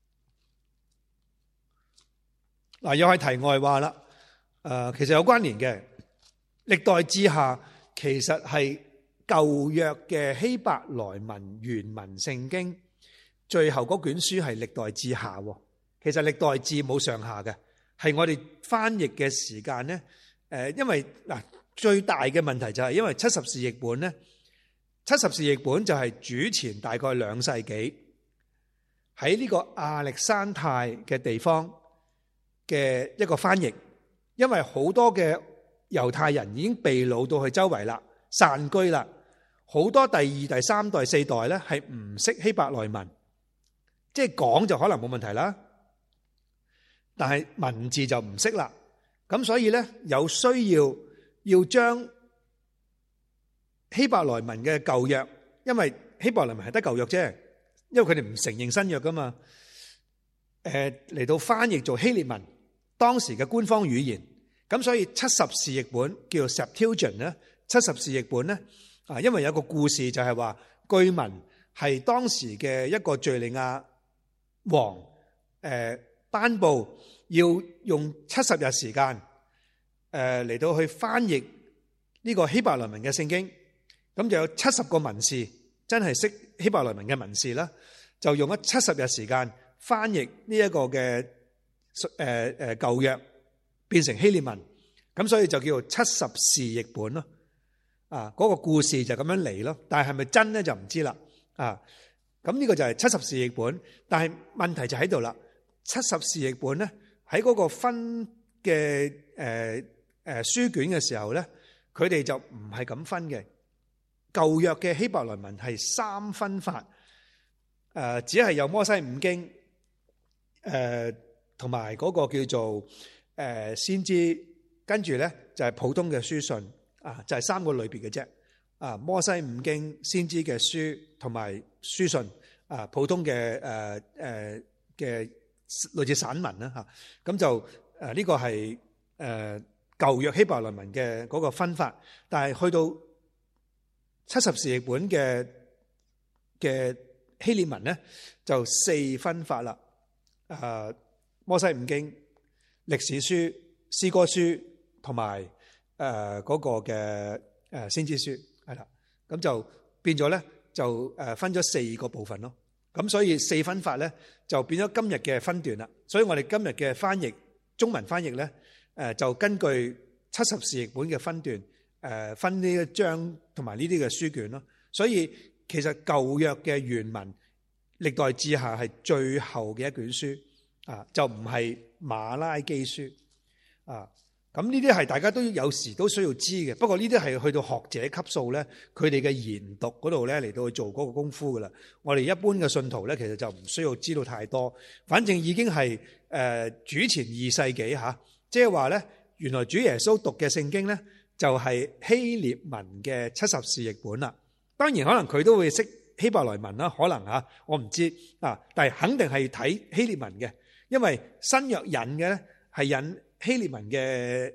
Speaker 1: 嗱，又係題外話啦。其實有關聯嘅，歷代志下其實係舊約嘅希伯來文原文聖經，最後嗰卷書係歷代志下。其實歷代志冇上下嘅，係我哋翻譯嘅時間咧。因為嗱，最大嘅問題就係因為70士譯本咧，70士譯本就係主前大概2世紀喺呢個亞歷山泰嘅地方嘅一個翻譯。因為好多嘅猶太人已經被擄到去周圍啦，散居啦，好多第2、第3代、4代咧係唔識希伯來文，即係講就可能冇問題啦，但係文字就唔識啦。咁所以咧有需要將希伯來文嘅舊約，因為希伯來文係得舊約啫，因為佢哋唔承認新約噶嘛。嚟到翻譯做希臘文，當時嘅官方語言。咁所以70士譯本叫做 Septuagint 咧，70士譯本咧，因為有個故事就係話，據聞係當時嘅一個敘利亞王頒布要用70日時間嚟到去翻譯呢個希伯來文嘅聖經，咁就有70個文士真係識希伯來文嘅文士啦，就用咗70日時間翻譯呢一個嘅舊約變成希臘文，咁所以就叫做70士譯本咯。嗰個故事就咁樣嚟咯，但係係咪真咧就唔知啦。咁呢個就係70士譯本，但係問題就喺度啦。70士譯本咧喺嗰個分嘅書卷嘅時候咧，佢哋就唔係咁分嘅。舊約嘅希伯來文係3分法，只係有摩西五經，同埋嗰個叫做先知，跟住咧就係普通嘅書信，就係3個類別嘅啫。摩西五經、先知嘅書同埋書信，普通嘅嘅類似散文啦嚇。咁就呢個係舊約希伯來文嘅嗰個分法，但係去到70士譯本嘅希臘文咧就4分法啦。摩西五經、歷史書、詩歌書同埋嗰個嘅先知書係啦，咁就變咗咧就分咗4個部分咯。咁所以4分法咧就變咗今日嘅分段啦。所以我哋今日嘅翻譯中文翻譯咧就根據70士譯本嘅分段分呢一章同埋呢啲嘅書卷咯。所以其實舊約嘅原文歷代志下係最後嘅一卷書就唔係馬拉基書咁呢啲係大家都有時都需要知嘅。不過呢啲係去到學者級數咧，佢哋嘅研讀嗰度咧嚟到去做嗰個功夫噶啦。我哋一般嘅信徒咧，其實就唔需要知道太多。反正已經係主前2世紀吓，即係話咧，原來主耶穌讀嘅聖經咧就係希臘文嘅70士譯本啦。當然可能佢都會識希伯來文啦，可能吓我唔知但係肯定係睇希臘文嘅，因為新約引嘅咧係引希臘文嘅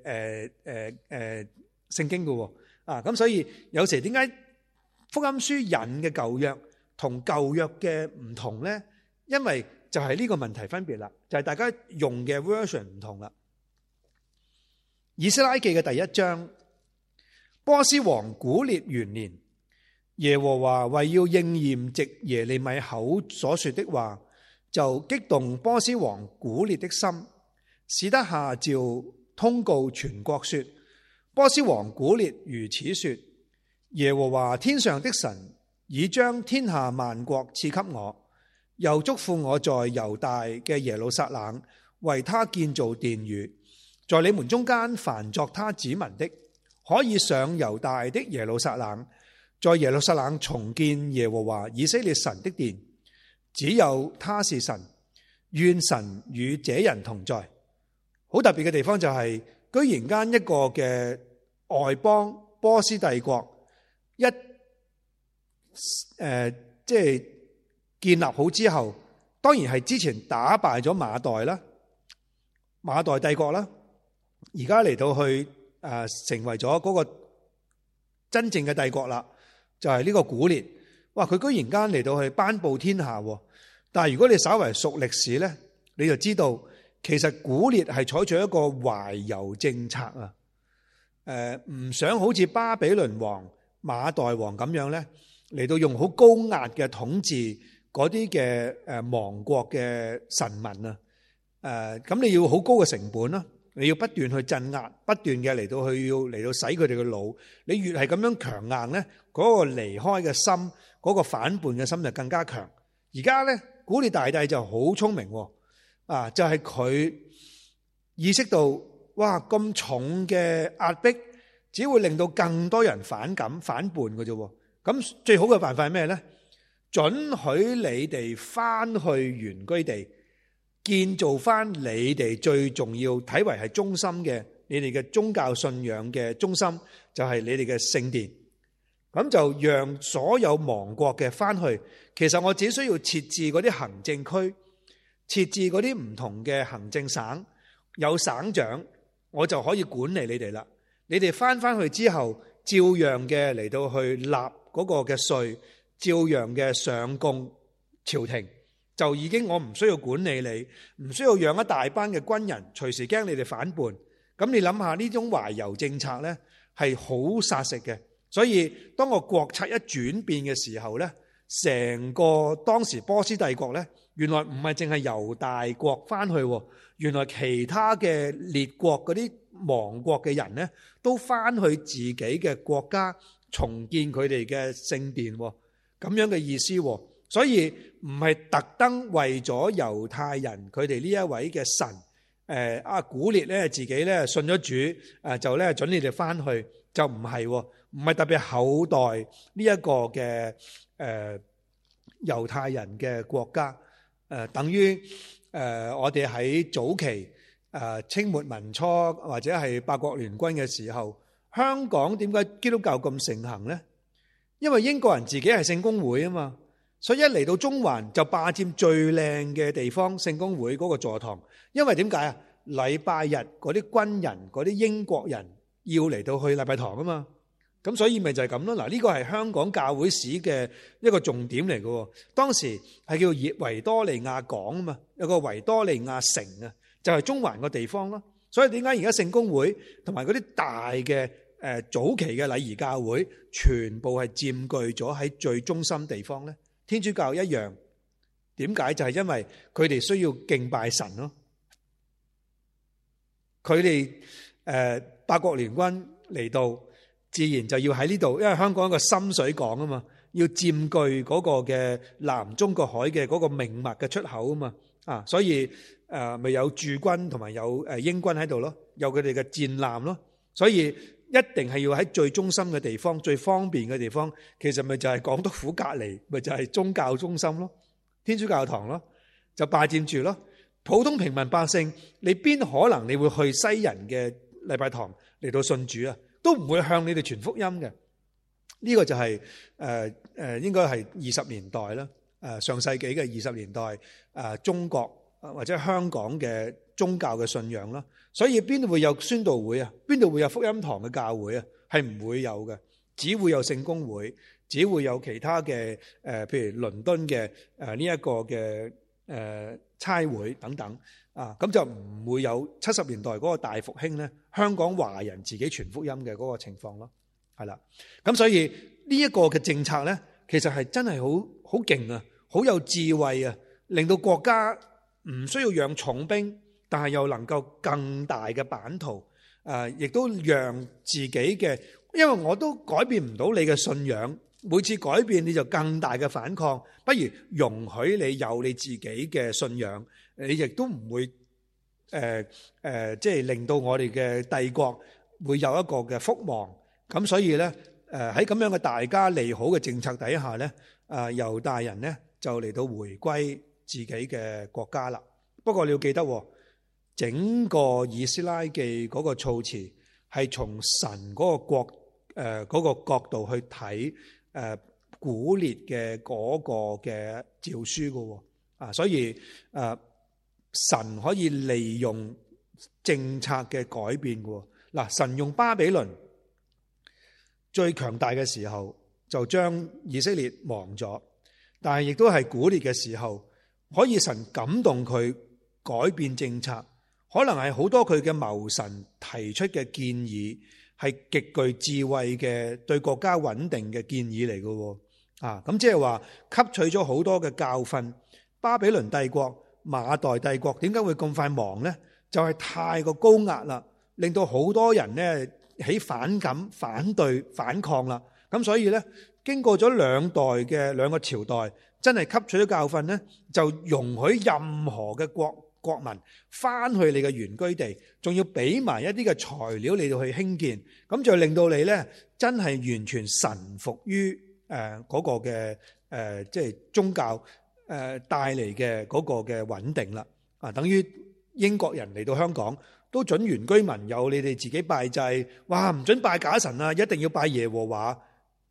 Speaker 1: 聖經嘅咁所以有時點解福音書引嘅舊約同舊約嘅唔同咧？因為就係呢個問題分別啦，就係大家用嘅 version 唔同啦。以斯拉記嘅第1章，波斯王古列元年，耶和華為要應驗藉耶利米口所說的話，就激動波斯王古列的心，使得下詔通告全國說：波斯王古列如此說，耶和華天上的神已將天下萬國賜給我，又囑咐我在猶大嘅耶路撒冷為他建造殿宇，在你們中間凡作他子民的，可以上猶大的耶路撒冷，在耶路撒冷重建耶和華以色列神的殿，只有他是神，願神與這人同在。好特別嘅地方就係，居然間一個嘅外邦波斯帝國即係建立好之後，當然係之前打敗咗馬代啦，馬代帝國啦，而家嚟到去成為咗嗰個真正嘅帝國啦，就係呢個古列。哇！佢居然間嚟到去頒布天下，但係如果你稍為熟歷史咧，你就知道。其實古列係採取一個懷柔政策唔想好似巴比倫王、馬代王咁樣咧，嚟到用好高壓嘅統治嗰啲嘅亡國嘅臣民咁你要好高嘅成本啦，你要不斷去鎮壓，不斷嘅嚟到去要嚟到洗佢哋嘅腦。你越係咁樣強硬咧，嗰個離開嘅心，嗰個反叛嘅心就更加強。而家咧，古列大帝就好聰明。就係佢意識到，哇！咁重嘅壓迫，只會令到更多人反感、反叛嘅啫。咁最好嘅辦法係咩咧？准許你哋翻去原居地，建造翻你哋最重要、睇為係中心嘅，你哋嘅宗教信仰嘅中心，就係你哋嘅聖殿。 咁就讓所有亡國嘅翻去。其實我只需要設置嗰啲行政區，設置嗰啲唔同嘅行政省，有省長，我就可以管理你哋啦。你哋翻去之後，照樣嘅嚟到去納嗰個嘅稅，照樣嘅上供朝廷，就已經我唔需要管理你，唔需要養一大班嘅軍人，隨時驚你哋反叛。咁你諗下呢種懷柔政策呢，係好殺食嘅。所以當個國策一轉變嘅時候呢，成個當時波斯帝國呢，原來唔係淨係猶大國翻去，原來其他嘅列國嗰啲亡國嘅人呢，都翻去自己嘅國家重建佢哋嘅聖殿，咁樣嘅意思。所以唔係特登為咗猶太人佢哋呢一位嘅神，古列咧自己咧信咗主，就咧准你哋翻去，就唔係，唔係特別厚待呢一個嘅猶太人嘅國家，等於我哋喺早期清末民初或者係八國聯軍嘅時候，香港點解基督教咁盛行呢？因為英國人自己係聖公會啊嘛，所以一嚟到中環就霸佔最靚嘅地方，聖公會嗰個座堂。因為點解啊？禮拜日嗰啲軍人、嗰啲英國人要嚟到去禮拜堂啊嘛，咁所以咪就係咁咯。嗱，呢個係香港教會史嘅一個重點嚟嘅。當時係叫維多利亞港啊嘛，有個維多利亞城啊，就係中環個地方咯。所以點解而家聖公會同埋嗰啲大嘅早期嘅禮儀教會，全部係佔據咗喺最中心地方呢？天主教一樣，點解？就係因為佢哋需要敬拜神咯。佢哋八國聯軍嚟到，自然就要喺呢度，因為香港一個深水港啊嘛，要佔據嗰個嘅南中國海嘅嗰個命脈嘅出口啊嘛，所以咪有駐軍同埋有英軍喺度咯，有佢哋嘅戰艦咯，所以一定係要喺最中心嘅地方、最方便嘅地方，其實咪就係港督府隔離，咪就係宗教中心咯，天主教堂咯，就霸佔住咯。普通平民百姓，你邊可能你會去西人嘅禮拜堂嚟到信主啊？都唔會向你哋傳福音嘅。呢個就係應該係20年代啦，上世紀嘅20年代中國或者香港嘅宗教嘅信仰啦。所以邊度會有宣道會啊？邊度會有福音堂嘅教會啊？係唔會有嘅，只會有聖公會，只會有其他嘅譬如倫敦嘅呢一個嘅差會等等咁就唔會有70年代嗰個大復興咧，香港華人自己傳福音嘅嗰個情況咯，係啦。咁所以呢一個嘅政策咧，其實係真係好勁啊，好有智慧啊，令到國家唔需要養重兵，但係又能夠更大嘅版圖，亦都讓自己嘅，因為我都改變唔到你嘅信仰。每次改變你就更大嘅反抗，不如容許你有你自己嘅信仰，你亦都唔會即係令到我哋嘅帝國會有一個嘅覆亡。咁所以呢，喺咁樣嘅大家利好嘅政策底下呢，猶大人呢就嚟到回歸自己嘅國家啦。不過你要記得，整個以斯拉記嗰個措辭係從神嗰個國嗰個角度去睇。古列嘅嗰個嘅詔書嘅，所以神可以利用政策嘅改變嘅。嗱，神用巴比倫最強大嘅時候就將以色列亡咗，但係亦都係古列嘅時候，可以神感動佢改變政策，可能係好多佢嘅謀臣提出嘅建議。係極具智慧嘅對國家穩定嘅建議嚟嘅，咁即係話吸取咗好多嘅教訓。巴比倫帝國、馬代帝國點解會咁快亡呢？就係太過高壓啦，令到好多人呢起反感、反對、反抗啦。咁所以呢，經過咗兩個朝代，真係吸取咗教訓呢，就容許任何嘅國民翻去你嘅原居地，仲要俾埋一啲嘅材料你哋去興建，咁就令到你呢真係完全臣服於嗰個嘅即係宗教帶嚟嘅嗰個嘅穩定啦。等於英國人嚟到香港都准原居民有你哋自己拜祭，哇，唔准拜假神啊，一定要拜耶和華。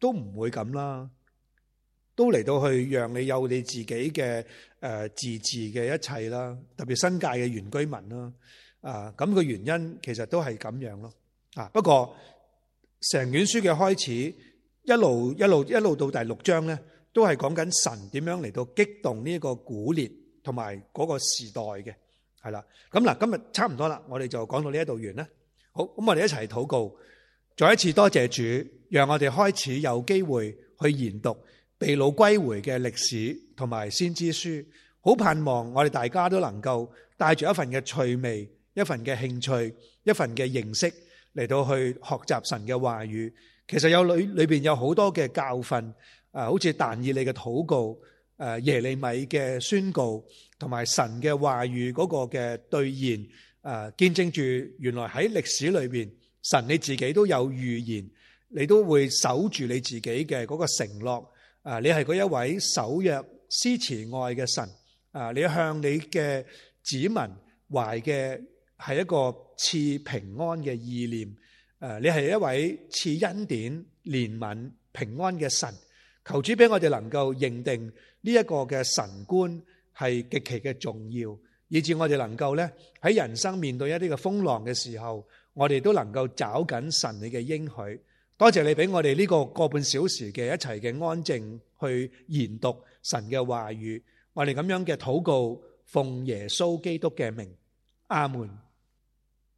Speaker 1: 都唔會咁啦，都嚟到去讓你有你自己嘅自治嘅一切啦，特別新界嘅原居民啦，咁個原因其實都係咁樣咯。不過成卷書嘅開始一路到第6章咧，都係講緊神點樣嚟到激動呢個古列同埋嗰個時代嘅，係啦。咁嗱，今日差唔多啦，我哋就講到呢一度完啦。好，咁我哋一齊禱告，再一次多謝主，讓我哋開始有機會去研讀被擄歸回嘅歷史同埋先知書。好盼望我哋大家都能夠帶住一份嘅趣味、一份嘅興趣、一份嘅認識嚟到去學習神嘅話語。其實有裏邊有好多嘅教訓，好似但以理嘅禱告，耶利米嘅宣告，同埋神嘅話語嗰個嘅兌現，見證住原來喺歷史裏邊，神你自己都有預言，你都會守住你自己嘅嗰個承諾。你係嗰一位守約施慈愛嘅神。你向你嘅子民懷嘅係一個賜平安嘅意念。你係一位賜恩典、憐憫、平安嘅神。求主俾我哋能夠認定呢一個嘅神觀係極其嘅重要，以致我哋能夠咧喺人生面對一啲嘅風浪嘅時候，我哋都能夠找緊神你嘅應許。多謝你俾我哋呢個半小時嘅一齊嘅安靜去研讀神嘅話語。我哋咁樣嘅禱告，奉耶穌基督嘅名，阿門。